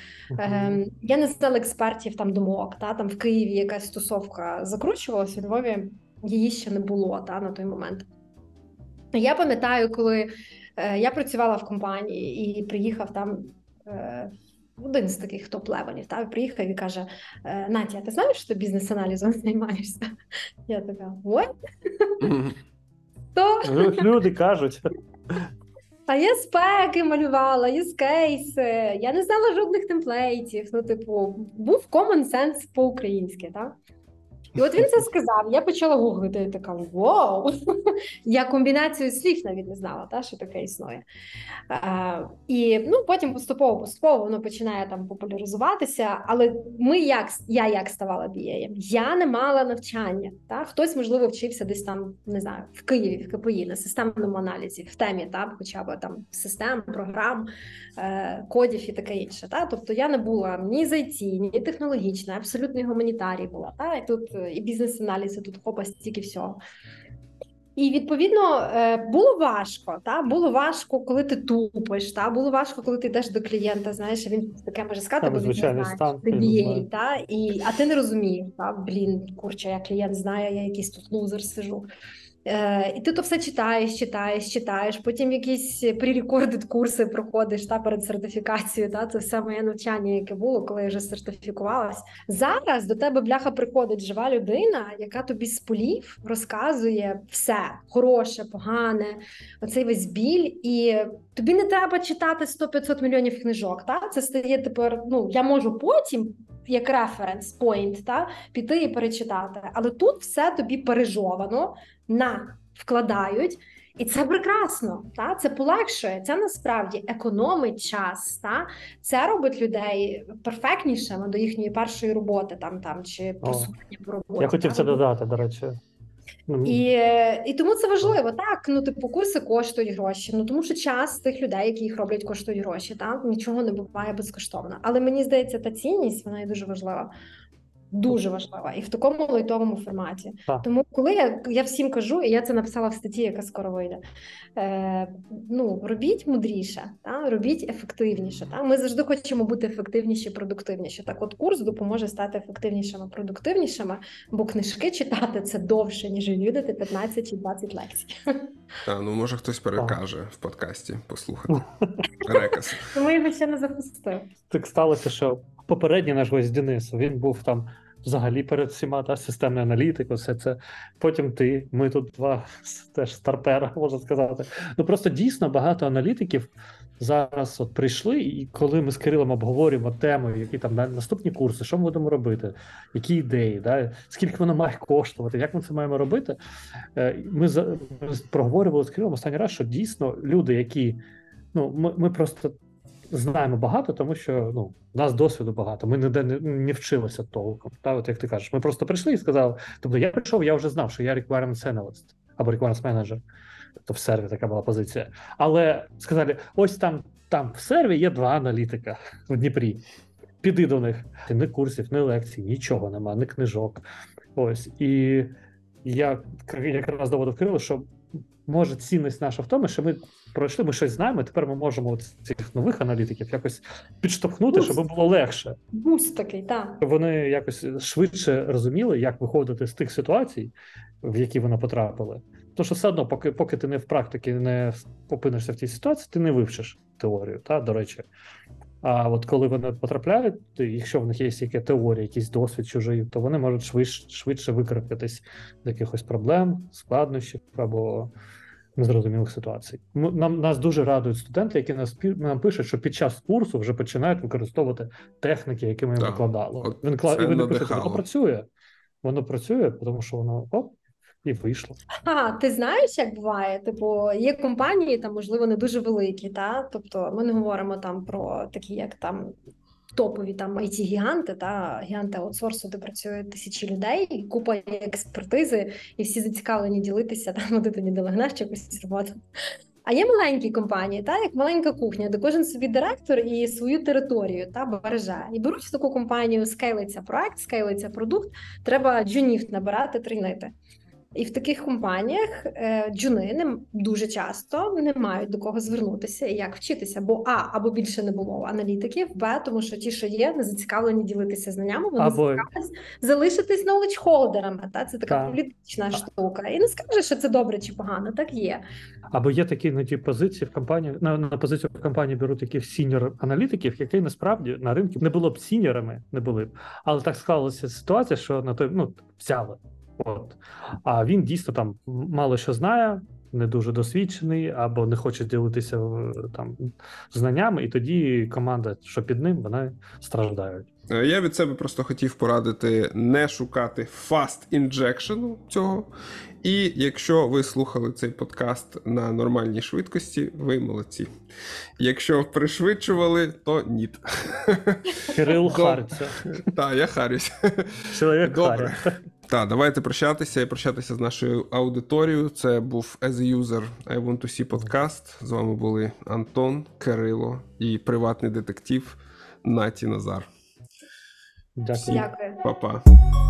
Я не знала експертів там думок, там в Києві якась тусовка закручувалася, у Львові її ще не було, на той момент. Я пам'ятаю, коли я працювала в компанії і приїхав там один з таких топ-левелів, приїхав і каже: Натя, ти знаєш, що ти бізнес-аналізом займаєшся? Я така: what? Люди кажуть. А я спеки малювала, юзкейси, я не знала жодних темплейтів, був common sense по-українськи, І от він це сказав, я почала гуглити, і така: вау! Я комбінацію слів навіть не знала, що таке існує. І потім поступово воно починає там популяризуватися, але я як ставала BA? Я не мала навчання. Хтось, можливо, вчився десь там, не знаю, в Києві, в КПІ, на системному аналізі, в темі, хоча б там систем, програм, кодів і таке інше. Тобто я не була ні з IT, ні технологічна, абсолютно гуманітарій була. І тут і бізнес-аналіз, і тут хопа, стільки всього. І, відповідно, було важко, було важко, коли ти тупиш, було важко, коли ти йдеш до клієнта, знаєш, він таке може сказати, бо він не знає, ти BA, а ти не розумієш, курча, я клієнт знає, я якийсь тут лузер сижу. І ти то все читаєш, потім якісь pre-recorded курси проходиш перед сертифікацією. Це все моє навчання, яке було, коли я вже сертифікувалась. Зараз до тебе, бляха, приходить жива людина, яка тобі з полів розказує все, хороше, погане, оцей весь біль, і тобі не треба читати 100-500 мільйонів книжок. Це стає тепер, я можу потім, як референс point, піти і перечитати. Але тут все тобі пережовано, вкладають, І це прекрасно, та? Це полегшує, це насправді економить час, та? Це робить людей перфектнішими до їхньої першої роботи чи просування по роботі. Я хотів це додати, до речі. І тому це важливо, так, курси коштують гроші, тому що час тих людей, які їх роблять, коштують гроші, так, нічого не буває безкоштовно. Але мені здається, та цінність, вона є дуже важлива. Дуже важлива і в такому лайтовому форматі. Тому коли я всім кажу, і я це написала в статті, яка скоро вийде, робіть мудріше, робіть ефективніше. Ми завжди хочемо бути ефективніші, продуктивніші. Так от курс допоможе стати ефективнішими, продуктивнішими, бо книжки читати – це довше, ніж відвідати 15 чи 20 лекцій. Може хтось перекаже в подкасті послухати. Рекас. Тому його ще не запустив. Так сталося, що попередній наш гость Денис, він був там взагалі перед всіма, системний аналітик, все це. Потім ти, ми тут два теж старпера, можна сказати. Просто дійсно багато аналітиків зараз прийшли, і коли ми з Кирилом обговорюємо тему, які там наступні курси, що ми будемо робити, які ідеї, скільки воно має коштувати, як ми це маємо робити, ми проговорювали з Кирилом останній раз, що дійсно люди, які, ми просто знаємо багато, тому що у нас досвіду багато, ми ніде не вчилися толком. От як ти кажеш, ми просто прийшли і сказали, тобто я прийшов, я вже знав, що я requirements analyst або requirements manager, тобто в серві така була позиція. Але сказали, ось там в серві є 2 аналітика в Дніпрі, піди до них. Ні курсів, ні лекцій, нічого нема, ні книжок. Ось, і я якраз доводив Кирилу, що може цінність наша в тому, що ми пройшли, ми щось знаємо, і тепер ми можемо цих нових аналітиків якось підштовхнути, щоб було легше. Буст такий, так. Вони якось швидше розуміли, як виходити з тих ситуацій, в які вони потрапили. Тому що все одно, поки ти не в практиці не опинишся в тій ситуації, ти не вивчиш теорію, до речі. А от коли вони потрапляють, якщо в них є яка теорія, якийсь досвід чужий, то вони можуть швидше викарабкатись з якихось проблем, складнощів або незрозумілих ситуацій. Нас дуже радують студенти, які нам пишуть, що під час курсу вже починають використовувати техніки, які ми їм викладали. І вони пишуть, воно працює, тому що воно і вийшло. Ти знаєш, як буває? Є компанії, можливо, не дуже великі, тобто ми не говоримо про такі, як топові IT-гіганти, гіганти аутсорсу, де працюють тисячі людей, купа експертизи, і всі зацікавлені ділитися, ти не долегнеш якусь роботу. А є маленькі компанії, як маленька кухня, де кожен собі директор і свою територію береже. І беруть в таку компанію, скейлиться проект, скейлиться продукт, треба джунів набирати, тренити. І в таких компаніях джуни дуже часто не мають до кого звернутися і як вчитися, бо або більше не було аналітиків, тому що ті, що є, не зацікавлені ділитися знаннями, вони зацікавлені залишитись knowledge-холдерами. Це така політична штука. І не скажеш, що це добре чи погано, так є. Або є такі позиції в компанії, на позицію в компанії беруть таких сіньор-аналітиків, які насправді на ринку не було б сіньорами, не були б. Але так склалася ситуація, що на той, взяли. А він дійсно мало що знає, не дуже досвідчений, або не хоче ділитися знаннями, і тоді команда, що під ним, вони страждають. Я від себе просто хотів порадити не шукати fast injection цього. І якщо ви слухали цей подкаст на нормальній швидкості, ви молодці. Якщо пришвидшували, то ні. Кирил хариться. Так, я харюсь. Чоловік харя. Так, давайте прощатися і прощатися з нашою аудиторією. Це був As a User I Want to See подкаст. З вами були Антон, Кирило і приватний детектив Наті Назар. Дякую. Дякую. Па-па.